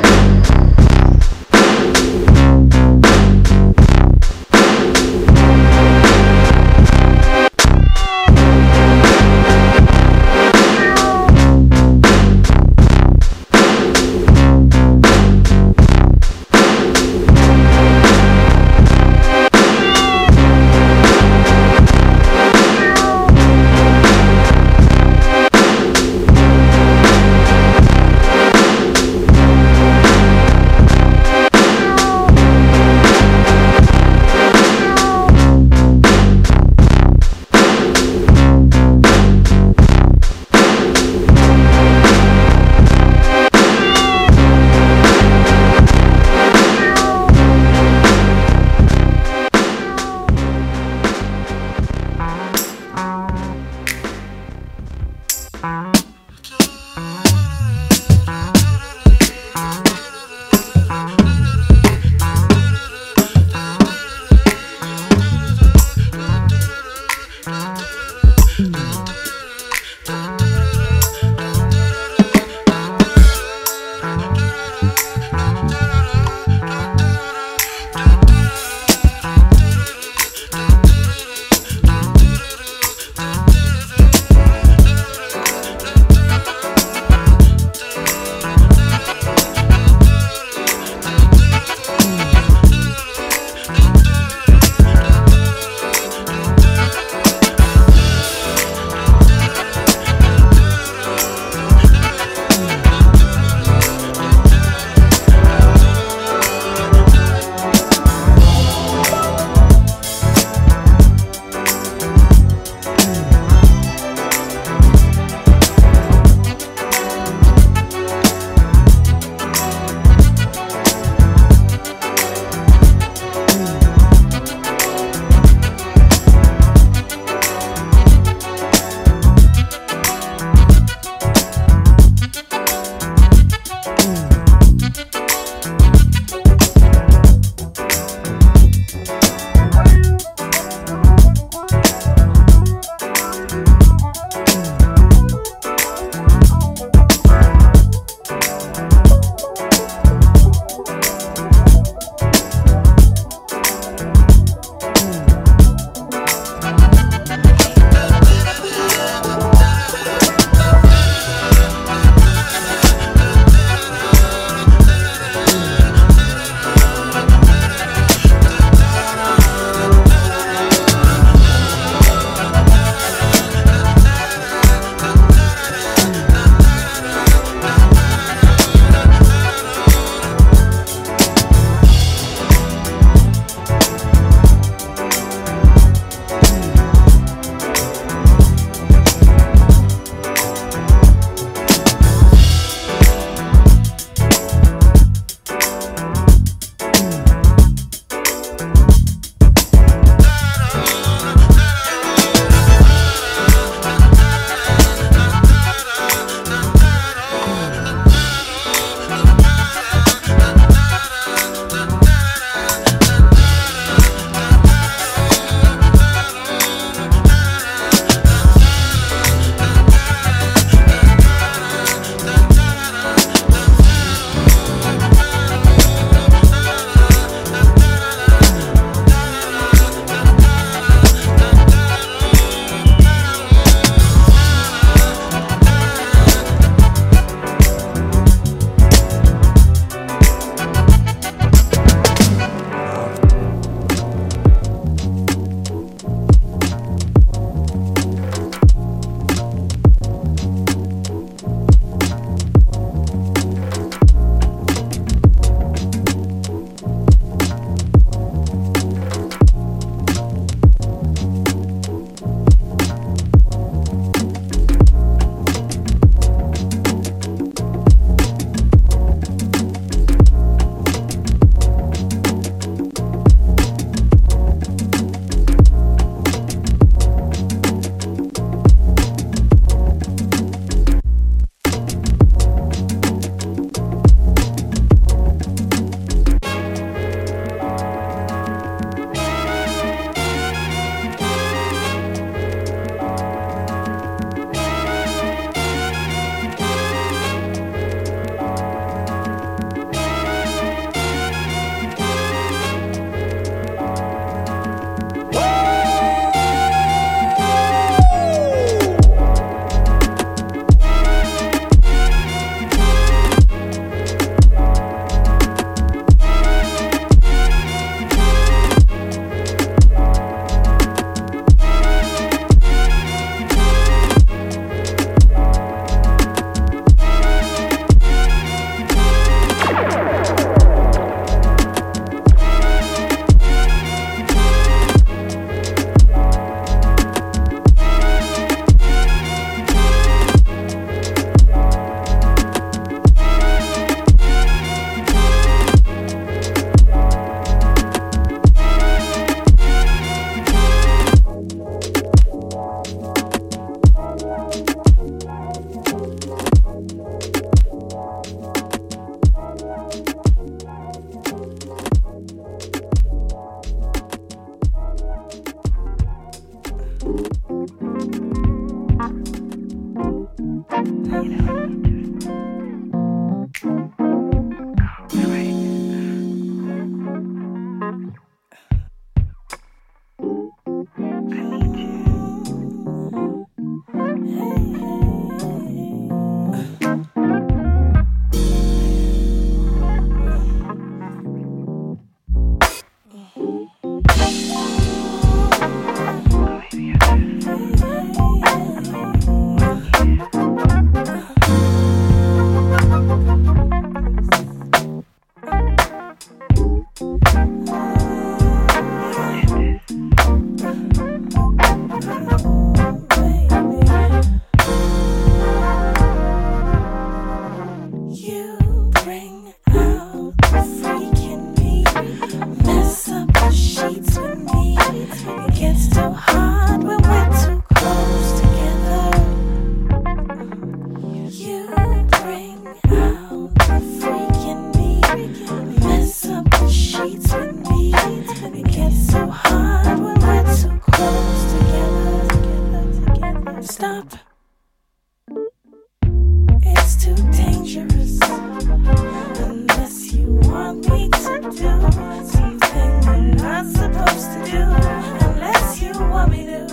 do something I'm not supposed to do unless you want me to.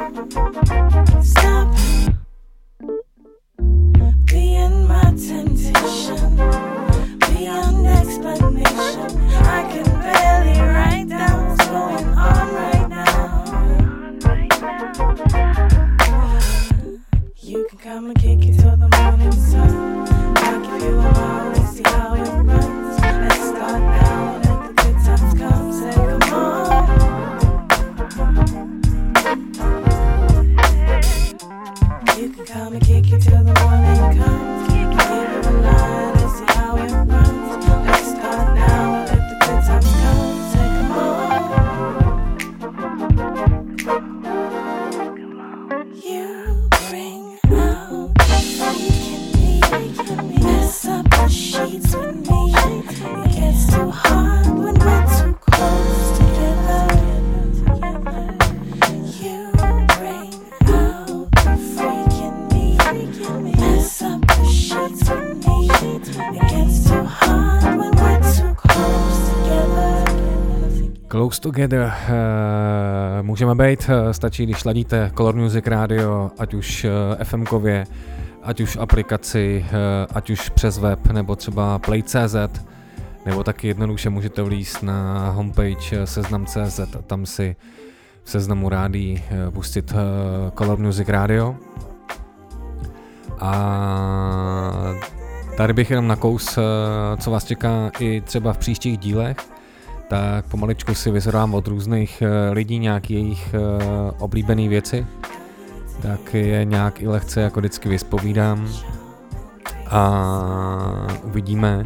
Stop being my temptation, beyond explanation. I can barely write down what's going on right now. You can come and kick it till the morning sun. I'll give you a while and see how it runs. Let's start now, let the good times come. Say come on. You can come and kick it till the morning comes. Give you a line and see how it runs. Let's start now, let the good times come. Say come on. You bring out the freak in me. Mess up the sheets with me. It gets too hard when we're too close together. You bring out the freak in me. Mess up the sheets with me. It gets too hard when we're too close together. Close Together můžeme být, stačí, když ladíte Color Music Radio, ať už FM-kově, ať už aplikaci, ať už přes web, nebo třeba Play.cz, nebo taky jednoduše můžete vlízt na homepage seznam.cz a tam si v seznamu rádií pustit Color Music Radio. A tady bych jenom nakous, co vás čeká i třeba v příštích dílech, tak pomaličku si vyzerám od různých lidí nějaký jejich oblíbený věci, tak je nějak i lehce jako vždycky vyspovídám a uvidíme,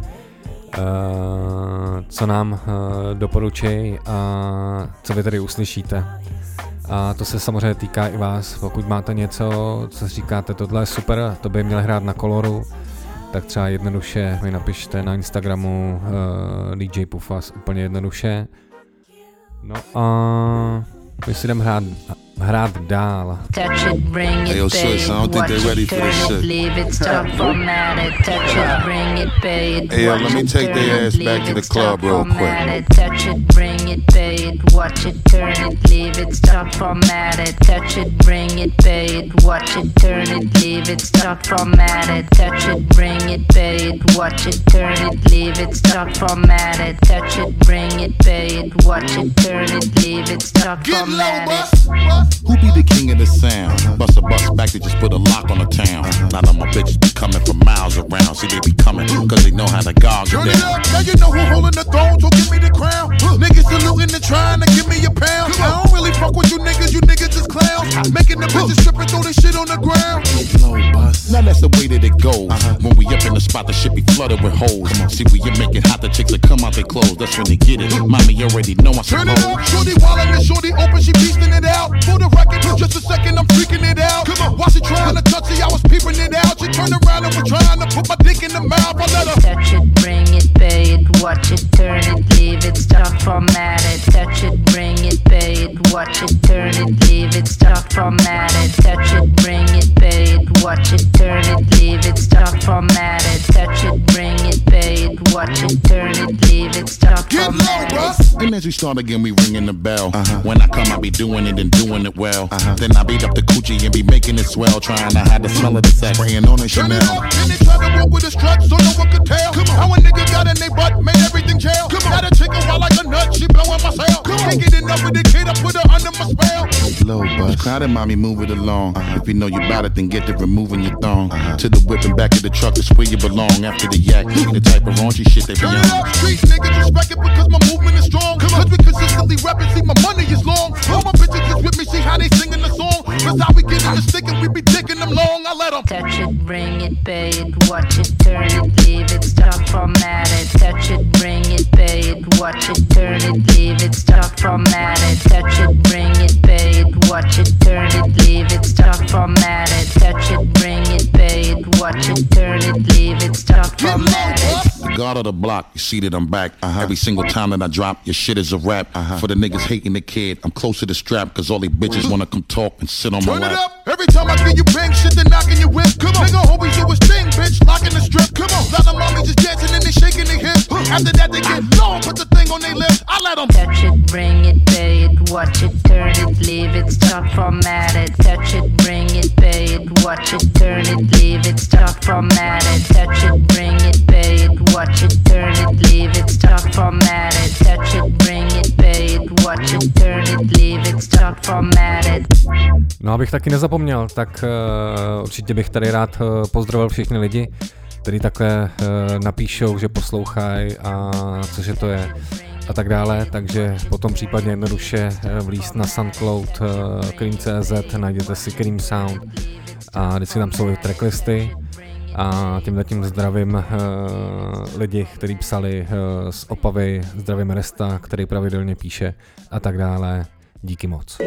co nám doporučí a co vy tady uslyšíte. A to se samozřejmě týká i vás, pokud máte něco, co říkáte, tohle je super, to by měl hrát na Coloru, tak třeba jednoduše mi napište na Instagramu DJ Pufas, úplně jednoduše. No a my si jdem hrát dál. Hey yo, sis, I don't think they're ready for this shit. Hey yo, let me take their ass back to the club real quick. Touch it, bring it, pay it, watch it, turn it, leave it, start formatted. Touch it, bring it, pay it, watch it, turn it, leave it, start formatted. Touch it, bring it, pay it, watch it, turn it, leave it, start formatted. Touch it, bring it, pay it, watch it, turn it, leave it, start formatted. Who be the king of the sound? Bust a bus back to just put a lock on the town. Now that my bitches be coming from miles around. See, they be coming, cause they know how to gog Turn it it down. up, now you know who holding the throne, so give me the crown. Niggas saluting and trying to give me a pound. I don't really fuck with you niggas is clowns. Making the bitches strip and throw this shit on the ground. Now that's the way that it goes. When we up in the spot, the shit be flooded with hoes. See, when you make it hot, the chicks that come out their clothes. That's when they get it. Mommy already know I Turn suppose. it up, shorty wildin' and shorty open, she beastin' it out. For the record, just a second, I'm freaking it out. Come on, while she trying to touch it, I was peeping it out. She turned around and was trying to put my dick in the mouth. I let her touch it, bring it, pay it, watch it, turn it, leave it, start formatted. Touch it, bring it, pay it, watch it, turn it, leave it, start formatted. Touch it, bring it, pay it, watch it, turn it, leave it, start formatted. Touch it, bring it, pay it, watch it, turn it, leave it, start formatted. And as we start again, we ringing the bell. When I come, I be doing it and doing it well. Then I beat up the coochie and be making it swell. Trying to hide the smell of the sack, spraying on the Turn Chanel. it up, and they try to walk with a strut so no one could tell. How a nigga got in they butt, made everything jail. Got a chick wild like a nut, she blowing my sail. Can't get enough of the kid, I put her under my spell. Low bus. Crowded, mommy, move it along. If you know you bout it, then get to removing your thong. To the whip and back of the truck is where you belong. After the yak, be the type of raunchy shit they be Turn on. it up, street niggas respect it because my movement is strong. Cause we consistently rap and see my money is long. All my bitches is with me, see how they singing the song. That's how we get in the stick and we be digging them long. I let them touch it, bring it, pay it, watch it, turn it, leave it, start formatted. Touch it, bring it, pay it, watch it, turn it, leave it, start formatted. Touch it, bring it, pay it, watch it, turn it, leave it, start formatted. Touch it, bring it, pay it, watch it, turn it, leave it, start formatted. The guard of the block, you see that I'm back. Every single time that I drop, your shit is a rap. For the niggas hating the kid, I'm close to the strap. Cause all they bitches wanna come talk and sit on my turn it lap. up. Every time I get you bang shit, they're knocking your whip. Come on, nigga, always do his thing. bitch, locking the strip. Come on, lot of mommies just dancing and they shaking their hips. After that they get low, put the thing on their lips. I let them touch it, bring it, pay it, watch it, turn it, leave it, stop, format it. Touch it, bring it, pay it, watch it, turn it, leave it, stop, format it. Touch it, bring it, pay it, watch it, turn it, leave it, stop, format it. Touch it, bring it, pay it, watch it, turn it, leave it, stop, format it. No, abych taky nezapomněl, tak určitě bych tady rád pozdravil všechny lidi, kteří takhle napíšou, že poslouchají a cože to je a tak dále, takže potom případně jednoduše vlízt na SoundCloud Cream.cz, najděte si Cream Sound a vždycky tam jsou tracklisty a tímhletím zdravím lidi, kteří psali z Opavy, zdravím Resta, který pravidelně píše a tak dále. Díky moc.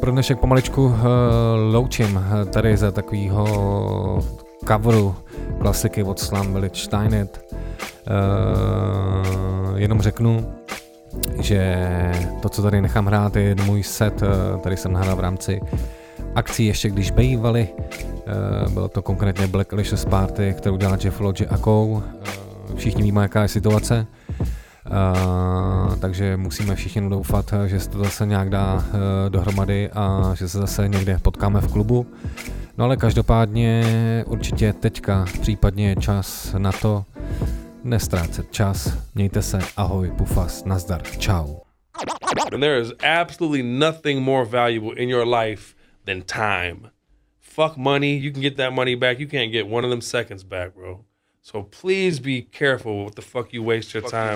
pro dnešek pomaličku loučím tady za takovýho coveru klasiky od Slum Village Steinet. Jenom řeknu, že to, co tady nechám hrát, je můj set, tady jsem nahrál v rámci akcí ještě když bývaly. Bylo to konkrétně Black Alicious Party, kterou dělá Jeff Lodge a Kou. Všichni víme, jaká je situace. Takže musíme všichni doufat, že se to zase nějak dá dohromady a že se zase někde potkáme v klubu. No ale každopádně určitě teďka případně je čas na to nestrácet čas. Mějte se, ahoj, pufas, nazdar, čau. And there is absolutely nothing more valuable in your life than time. Fuck money, you can get that money back, you can't get one of them seconds back, bro. So please be careful what the fuck you waste your time.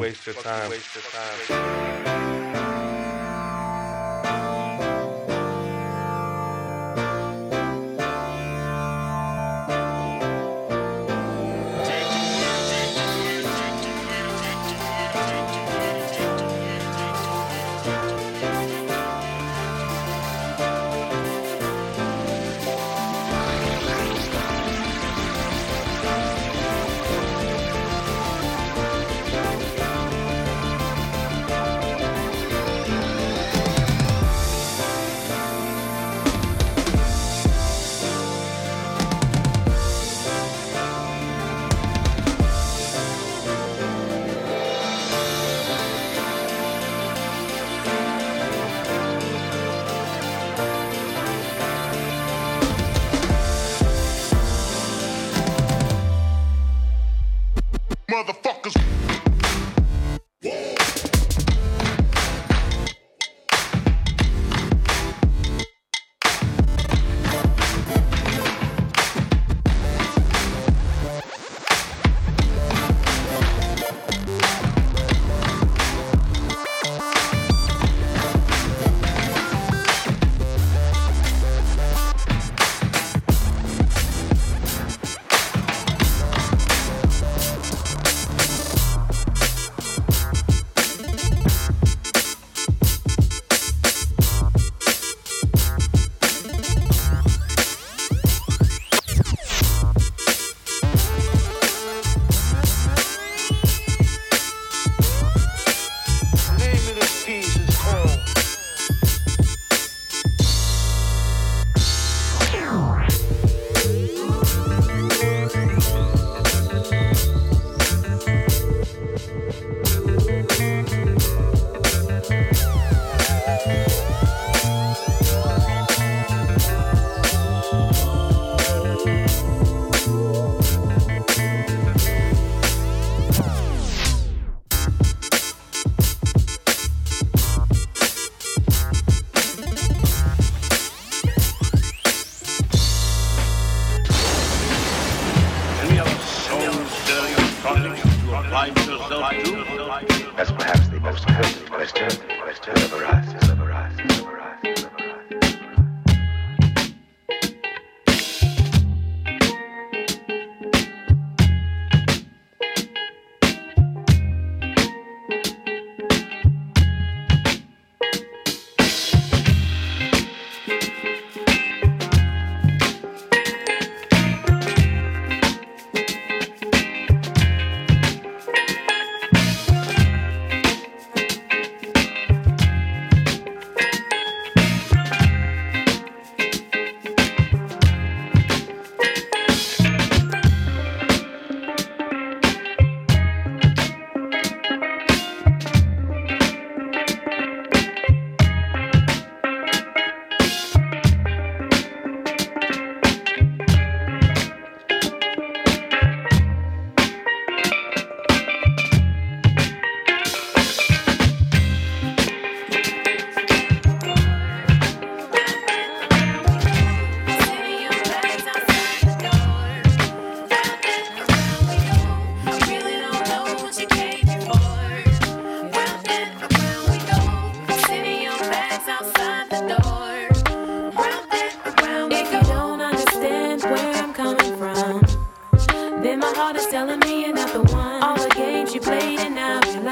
That's perhaps the most pertinent question ever asked.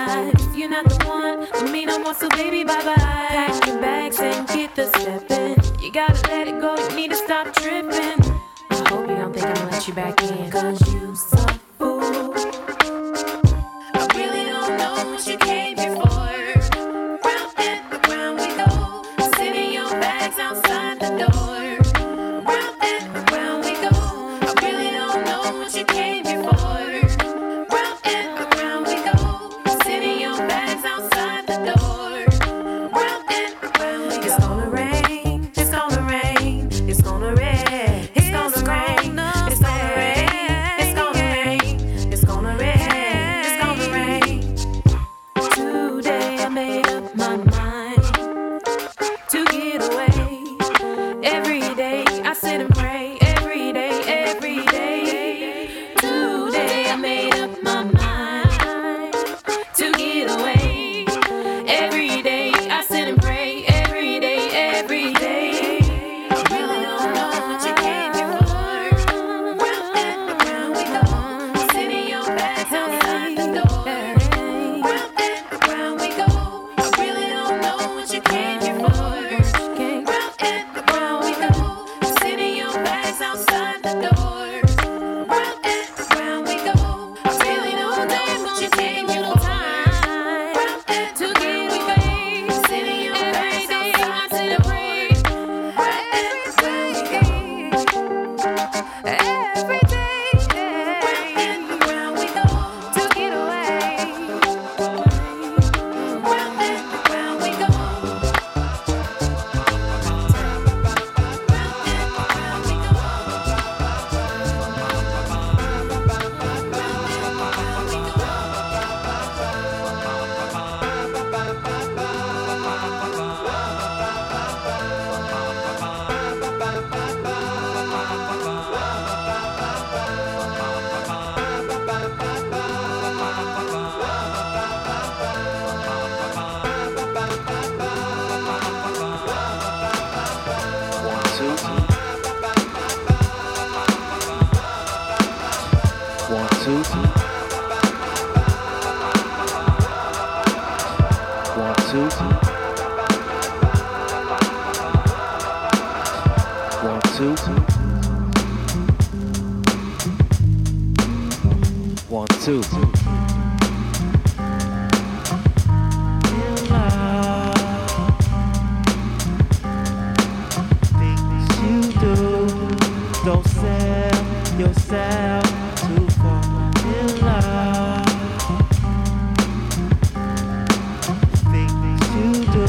You're not the one for me no more, so baby, bye-bye. Pack your bags and get the step in. stop tripping. I hope you don't think I'm gonna let you back in. Cause you so fool. I really don't know what you came here for. Round and around we go. Sitting your bags outside the door. Round and around we go. I really don't know what you came here for. Round and around we go. Sitting your bags outside the door. Round and around we go. It's gonna rain. It's gonna rain. It's gonna rain. It's gonna rain. It's gonna rain. It's gonna rain. It's gonna rain. It's gonna rain. Today I made up my mind to get away. Every day I sit and pray. Every day, every day. Today I made up my mind to get away. Every day I sit and pray. Every day, every day. I really don't know what you came here for. Round and around we go. Sitting your bags outside the door. Round and around we go. I really don't know what you came here for. Round and around we go. Sitting your bags outside the door. Round and around we go. I really don't know what you came here for. Round and to get away. Sitting your bags outside the door. Round and around we go. Every day. Round and around we go. To get away. Round and around we go. One, two. Things you do, don't sell yourself too far in love. Things you do.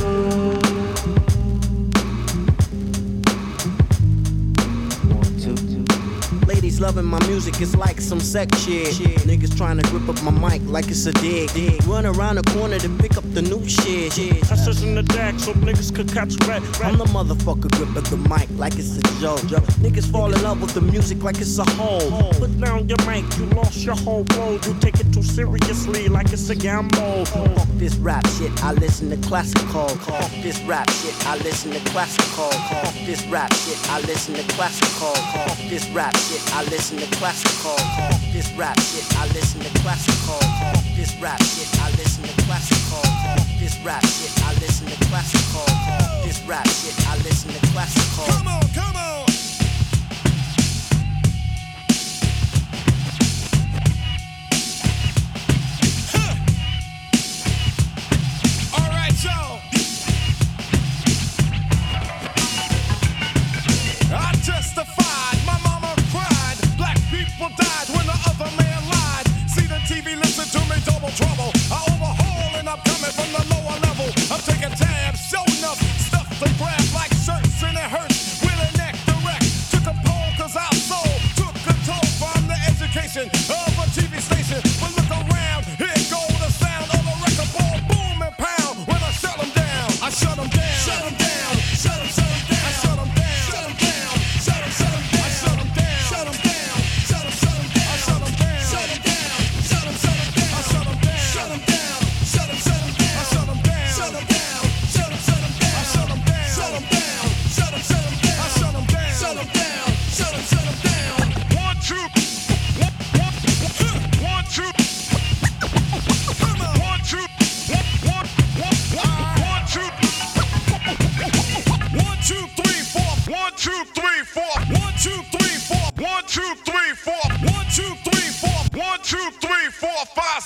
Ladies loving my music, it's like some sex shit. Niggas trying to grip up my mic like it's a dig. Run around the corner to pick up the new shit. I says in the deck so niggas could catch red. I'm the motherfucker gripping the mic like it's a joke. Niggas fall in love with the music like it's a hole. Put down your mic, you lost your whole road. You take it too seriously like it's a gamble. Fuck this rap shit, I listen to classical. Fuck this rap shit, I listen to classical. Fuck this rap shit, I listen to classical. Fuck this rap shit, I listen to classical. Fuck this rap shit, I listen to classical. Fuck this rap shit, I listen to classical. Fuck this rap shit, I listen to classical. Fuck this rap shit, I listen to classical. Come on, come on. All right, y'all. I testified, my mama cried. Black people died when the other man lied. See the TV, listen to me, double trouble. I overhaul and I'm coming from the lower level. I'm taking tabs, show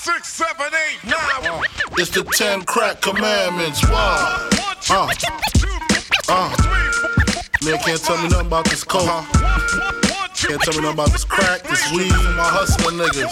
6, 7, 8, 9. It's the 10 crack commandments. Why? Man can't tell me nothing about this coke. Can't tell me nothing about this crack, this weed, my hustling niggas.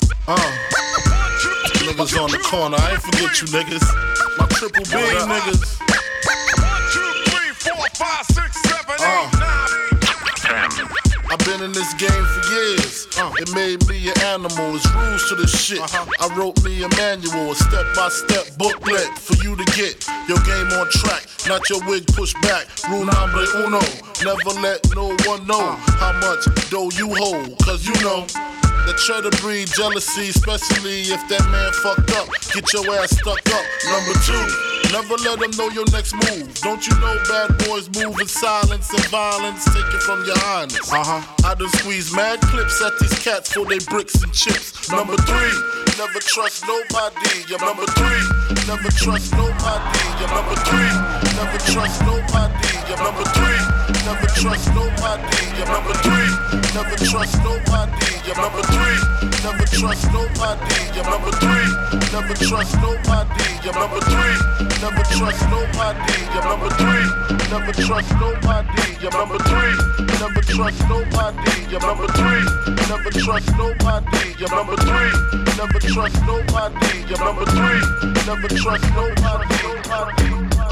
Niggas on the corner, I ain't forget you niggas. My triple B niggas. 1, 2, 3, 4, 5, 6, 7, 8, 9. I've been in this game for years. It made me an animal. There's rules to this shit. I wrote me a manual, a step-by-step booklet for you to get your game on track, not your wig pushed back. Rule number uno, never let no one know how much dough you hold, cause you know that try to breed jealousy, especially if that man fucked up. Get your ass stuck up. Number 2, never let them know your next move. Don't you know bad boys move in silence and violence? Take it from your highness. I done squeeze mad clips at these cats for they bricks and chips. Number 3, never trust nobody. You're number 3, never trust nobody. You're number 3, never trust nobody. You're number 3, never trust nobody. You're number 3, never trust nobody. You're number 3, never trust nobody. You're number 3, never trust nobody. You're number 3, never trust nobody. You're number 3, never trust nobody. You're number 3, never trust nobody. You're number 3, never trust nobody. You're number 3, never trust nobody. You're number 3, never trust nobody.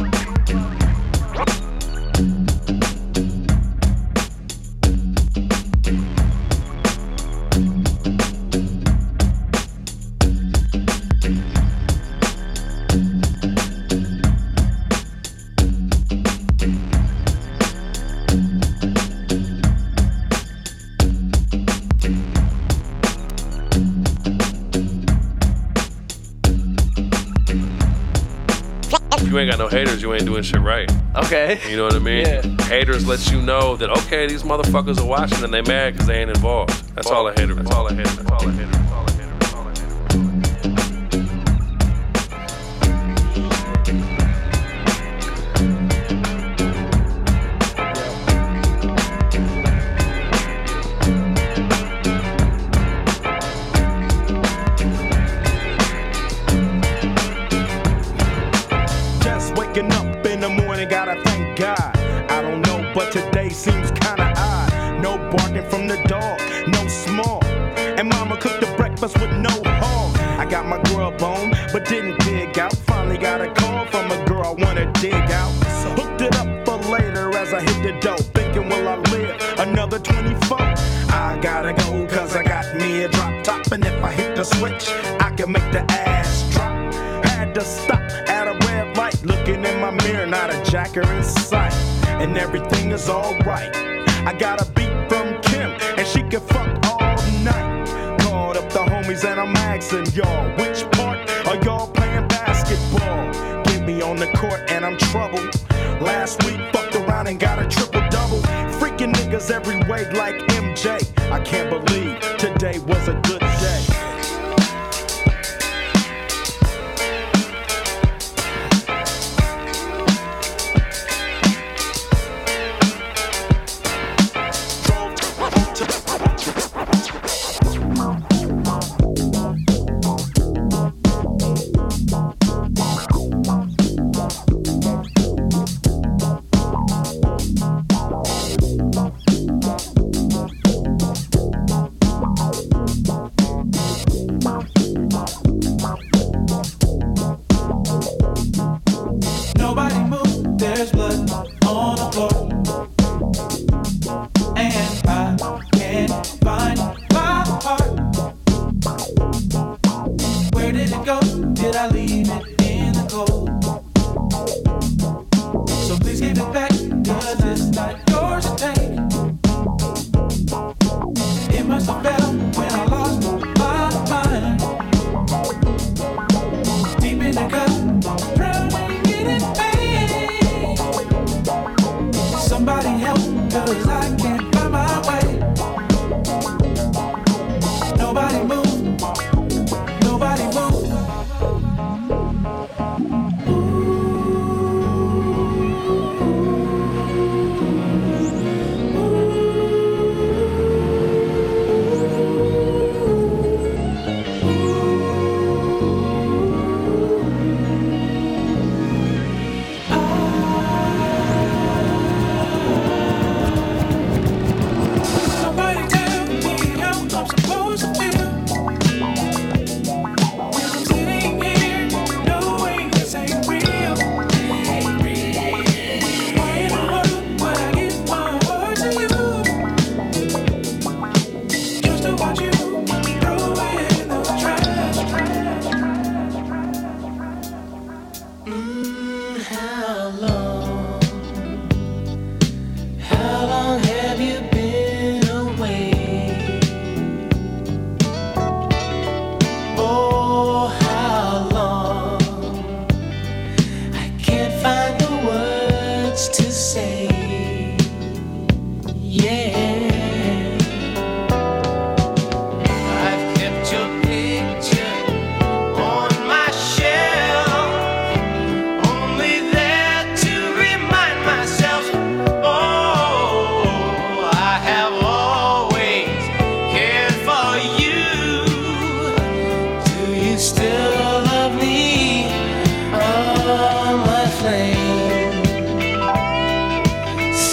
You ain't got no haters, you ain't doing shit right. Okay. You know what I mean? Yeah. Haters let you know that, okay, these motherfuckers are watching and they mad because they ain't involved. That's all a hater. That's all a hater. That's all a hater. That's all a hater. That's all a hater. Waking up in the morning, gotta thank God. I don't know, but today seems kinda odd. No barking from the dog, no small. And mama cooked the breakfast with no hog. I got my grub on, but didn't dig out. Finally got a call from a girl I wanna dig out. Hooked it up for later as I hit the dough. Thinking, will I live another 24? I gotta go, cause I got me a drop top. And if I hit the switch, I can make the ass drop. Had to stop at a red light, looking in my mirror, not a jacker in sight, and everything is alright. I got a beat from Kim, and she can fuck all night. Called up the homies and I'm asking y'all, which part are y'all playing basketball? Get me on the court and I'm troubled. Last week fucked around and got a triple-double. Freaking niggas every way like MJ. I can't believe today was a good day.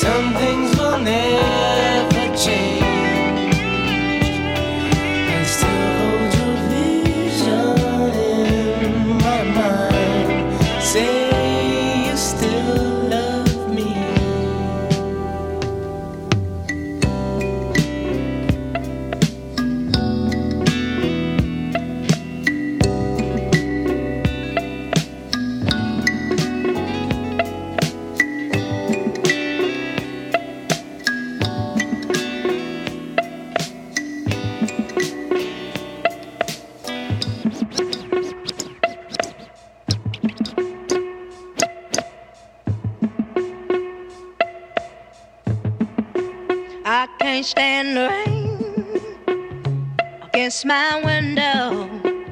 Some things will never change. I still hold your vision in my mind. Say you still love me. I can't stand the rain against my window,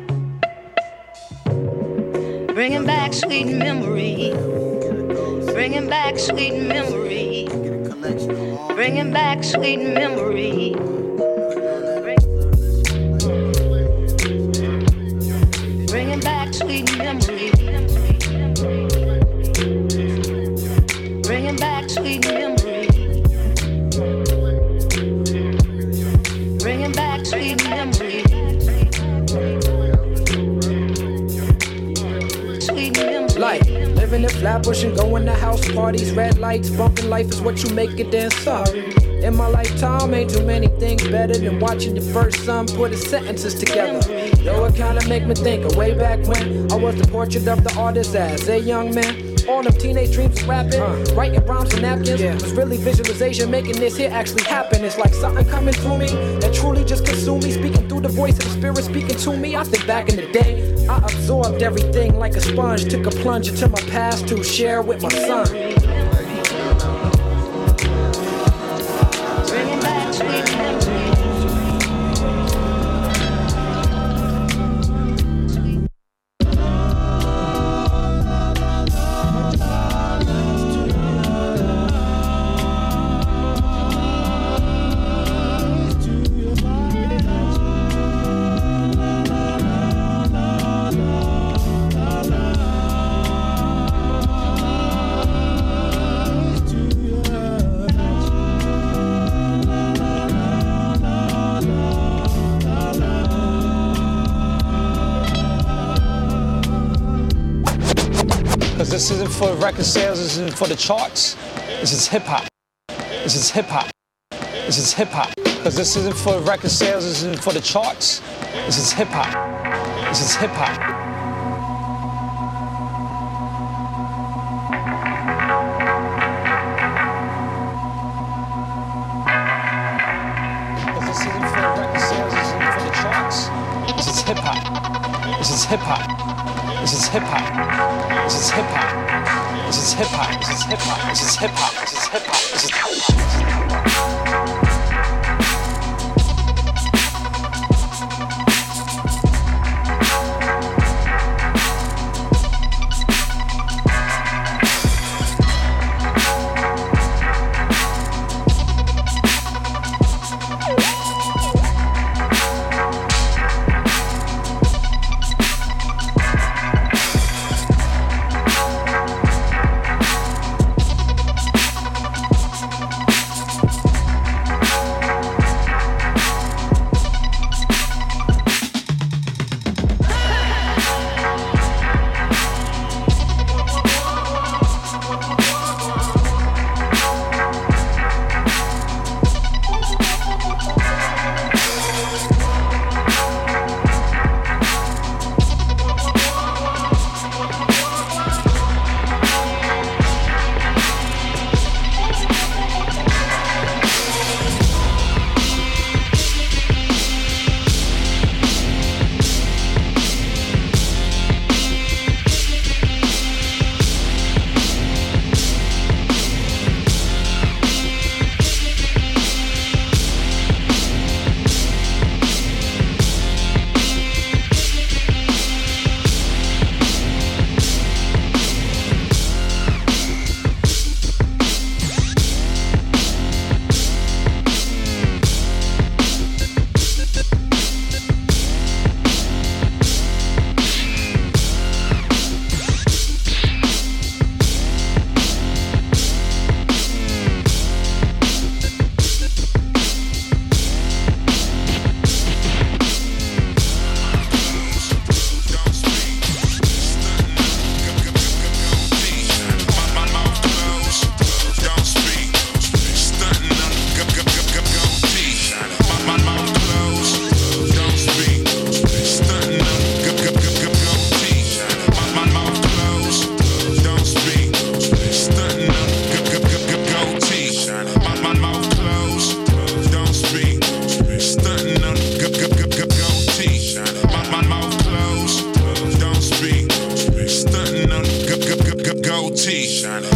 bringing back sweet memory, bringing back sweet memory, bringing back sweet memory. Bringing back sweet memory, bringing back sweet memory. Bringing back sweet memory. Sweet memory. Like living in Flatbush and going to house parties, red lights, bumping life is what you make it, then sorry. In my lifetime, ain't too many things better than watching the first son put his sentences together. Though it kinda make me think of way back when I was the portrait of the artist as a young man. All them teenage dreams of rapping, writing rhymes on napkins, was really visualization making this here actually happen. It's like something coming through me that truly just consumed me, speaking through the voice of the spirit speaking to me. I think back in the day, I absorbed everything like a sponge, took a plunge into my past to share with my son. Bringing back sweet memory. This isn't for record sales, this isn't for the charts. This is hip hop. This is hip hop. This is hip hop. Because this isn't for record sales, this isn't for the charts. This is hip hop. This is hip hop. Because this isn't for record sales, this isn't for the charts. This is hip hop. This is hip hop. This is hip hop. This is hip hop. This is hip hop. This is hip hop. This is hip hop. This is hip hop. This is hip hop.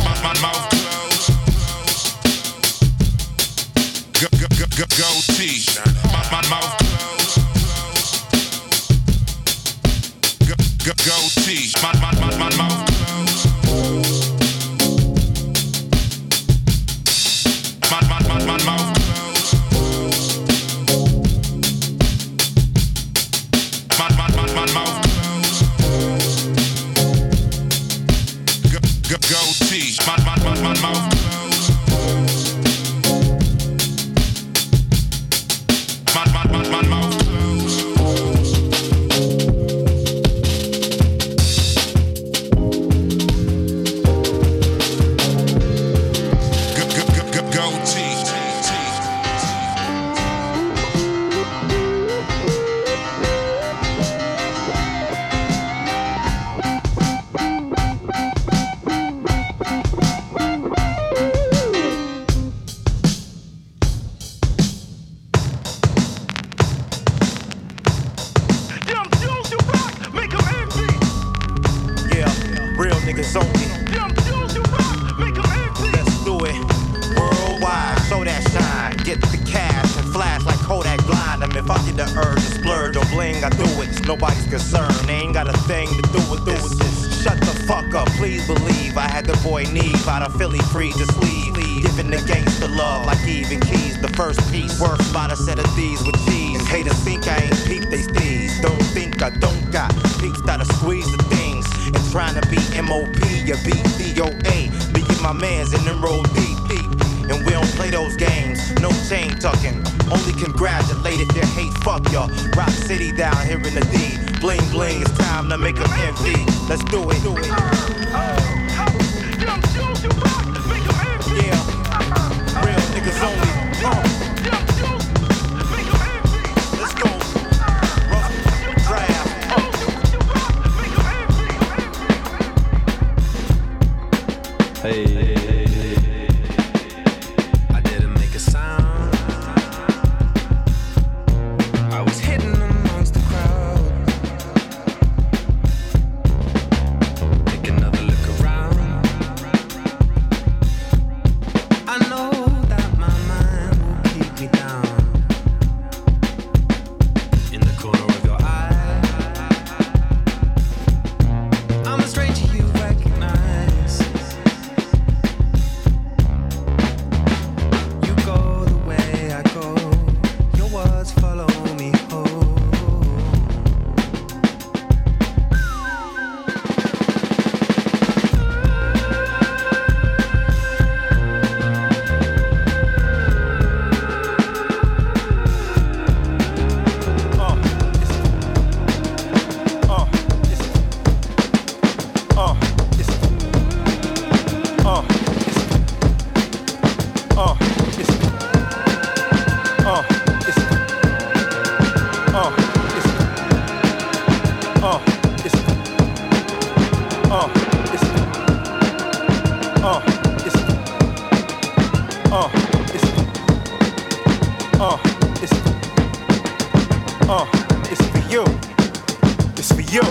My mouth closed. Goatee. My mouth closed. Goatee. My mouth closed. My mouth closed. My mouth closed. Goatee. My mouth closed. My mouth closed. Yeah, real niggas only. Let's do it worldwide. Show that shine. Get the cash and flash like Kodak blind. If I get the urge to splurge or bling, I do it. It's nobody's concern. They ain't got a thing to do with this. Shut the fuck up, please believe. I had the boy Neve out of Philly free to sleeve. Giving the gangster love like even keys. The first piece worth about a set of these with cheese. And haters think I ain't peep they steez. Don't think I don't got peeps that'll squeeze the things. And trying to be MOP, you beat DOA. Me and my mans in them roll deep. And we don't play those games, no chain tucking. Only congratulate if you hate, fuck y'all. Rock City down here in the D. Bling bling, it's time to make them envy. Let's do it. Yeah, real niggas only. Let's go. Rough draft. Hey. I didn't make a sound. I was hidden amongst the crowd. Take another look around. I know that my mind will keep me down. In the corner of your eye, I'm a stranger you recognize. You go the way I go. Your words follow me home. It's for you. It's for you.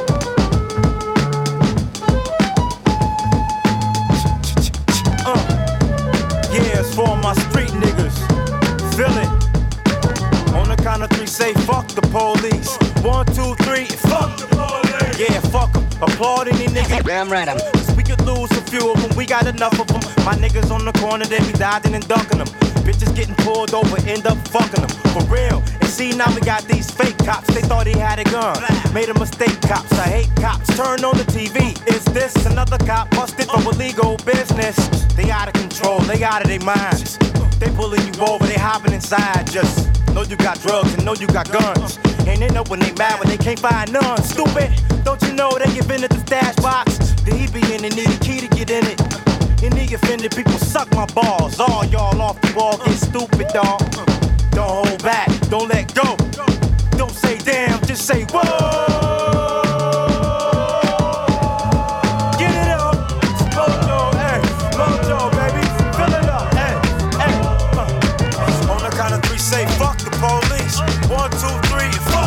Yeah, it's for my street niggas. Feel it. On the count of three, say fuck the police. 1, 2, 3, fuck the police. Yeah, fuck them. Applaud any nigga. Damn right, we could lose a few of them. We got enough of them. My niggas on the corner, they be dodging and ducking them. Bitches getting pulled over, end up fucking them. For real. And see, now we got these fake cops. They thought he had a gun. Made a mistake, cops. I hate cops. Turn on the TV. Is this another cop busted for illegal business? They out of control. They out of their minds. They pulling you over. They hopping inside. Just know you got drugs and know you got guns. And they know when they mad when they can't find none. Stupid. Don't you know they give in at the stash box? The he be in and need a key to get in it. Any offended people suck my balls. All y'all off the wall get stupid, dawg. Don't hold back, don't let go. Don't say damn, just say whoa. Get it up, Mojo, hey, Mojo, baby, fill it up, hey, hey. On the count of three, say fuck the police. 1, 2, 3, fuck.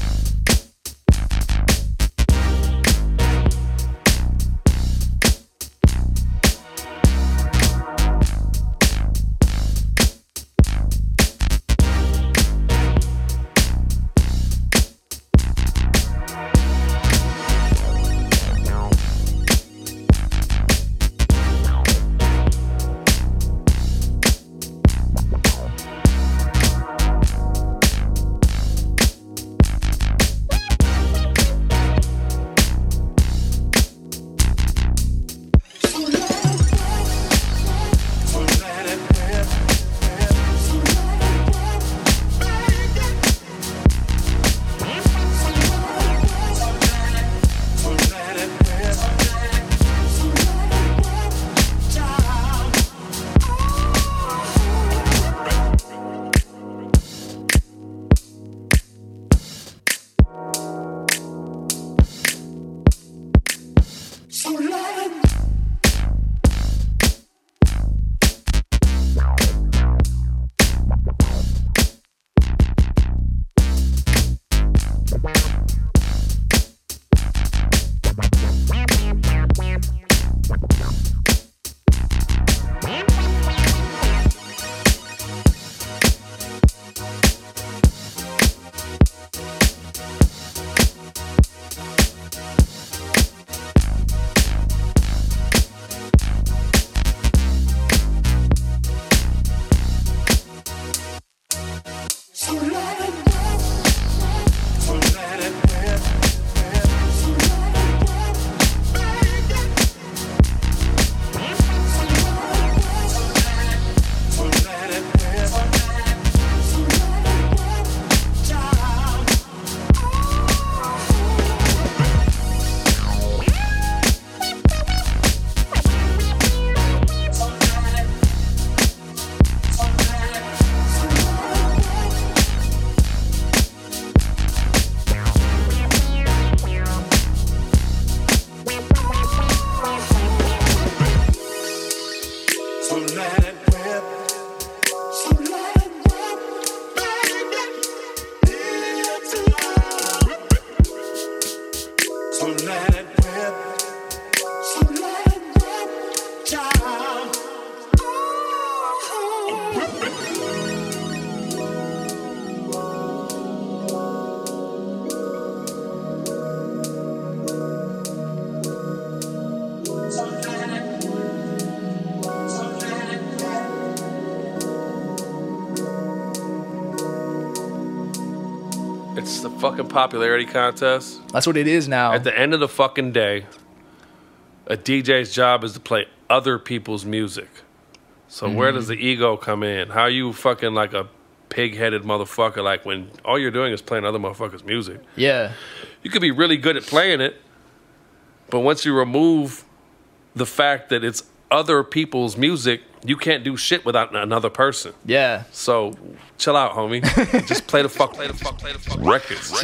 It's the fucking popularity contest. That's what it is now. At the end of the fucking day, a DJ's job is to play other people's music. So where does the ego come in? How are you fucking like a pig-headed motherfucker like when all you're doing is playing other motherfuckers' music? Yeah. You could be really good at playing it, but once you remove the fact that it's other people's music, you can't do shit without another person. Yeah. So chill out, homie. Just play the fuck records.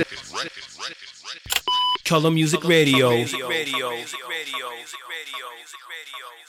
Color Music Radio.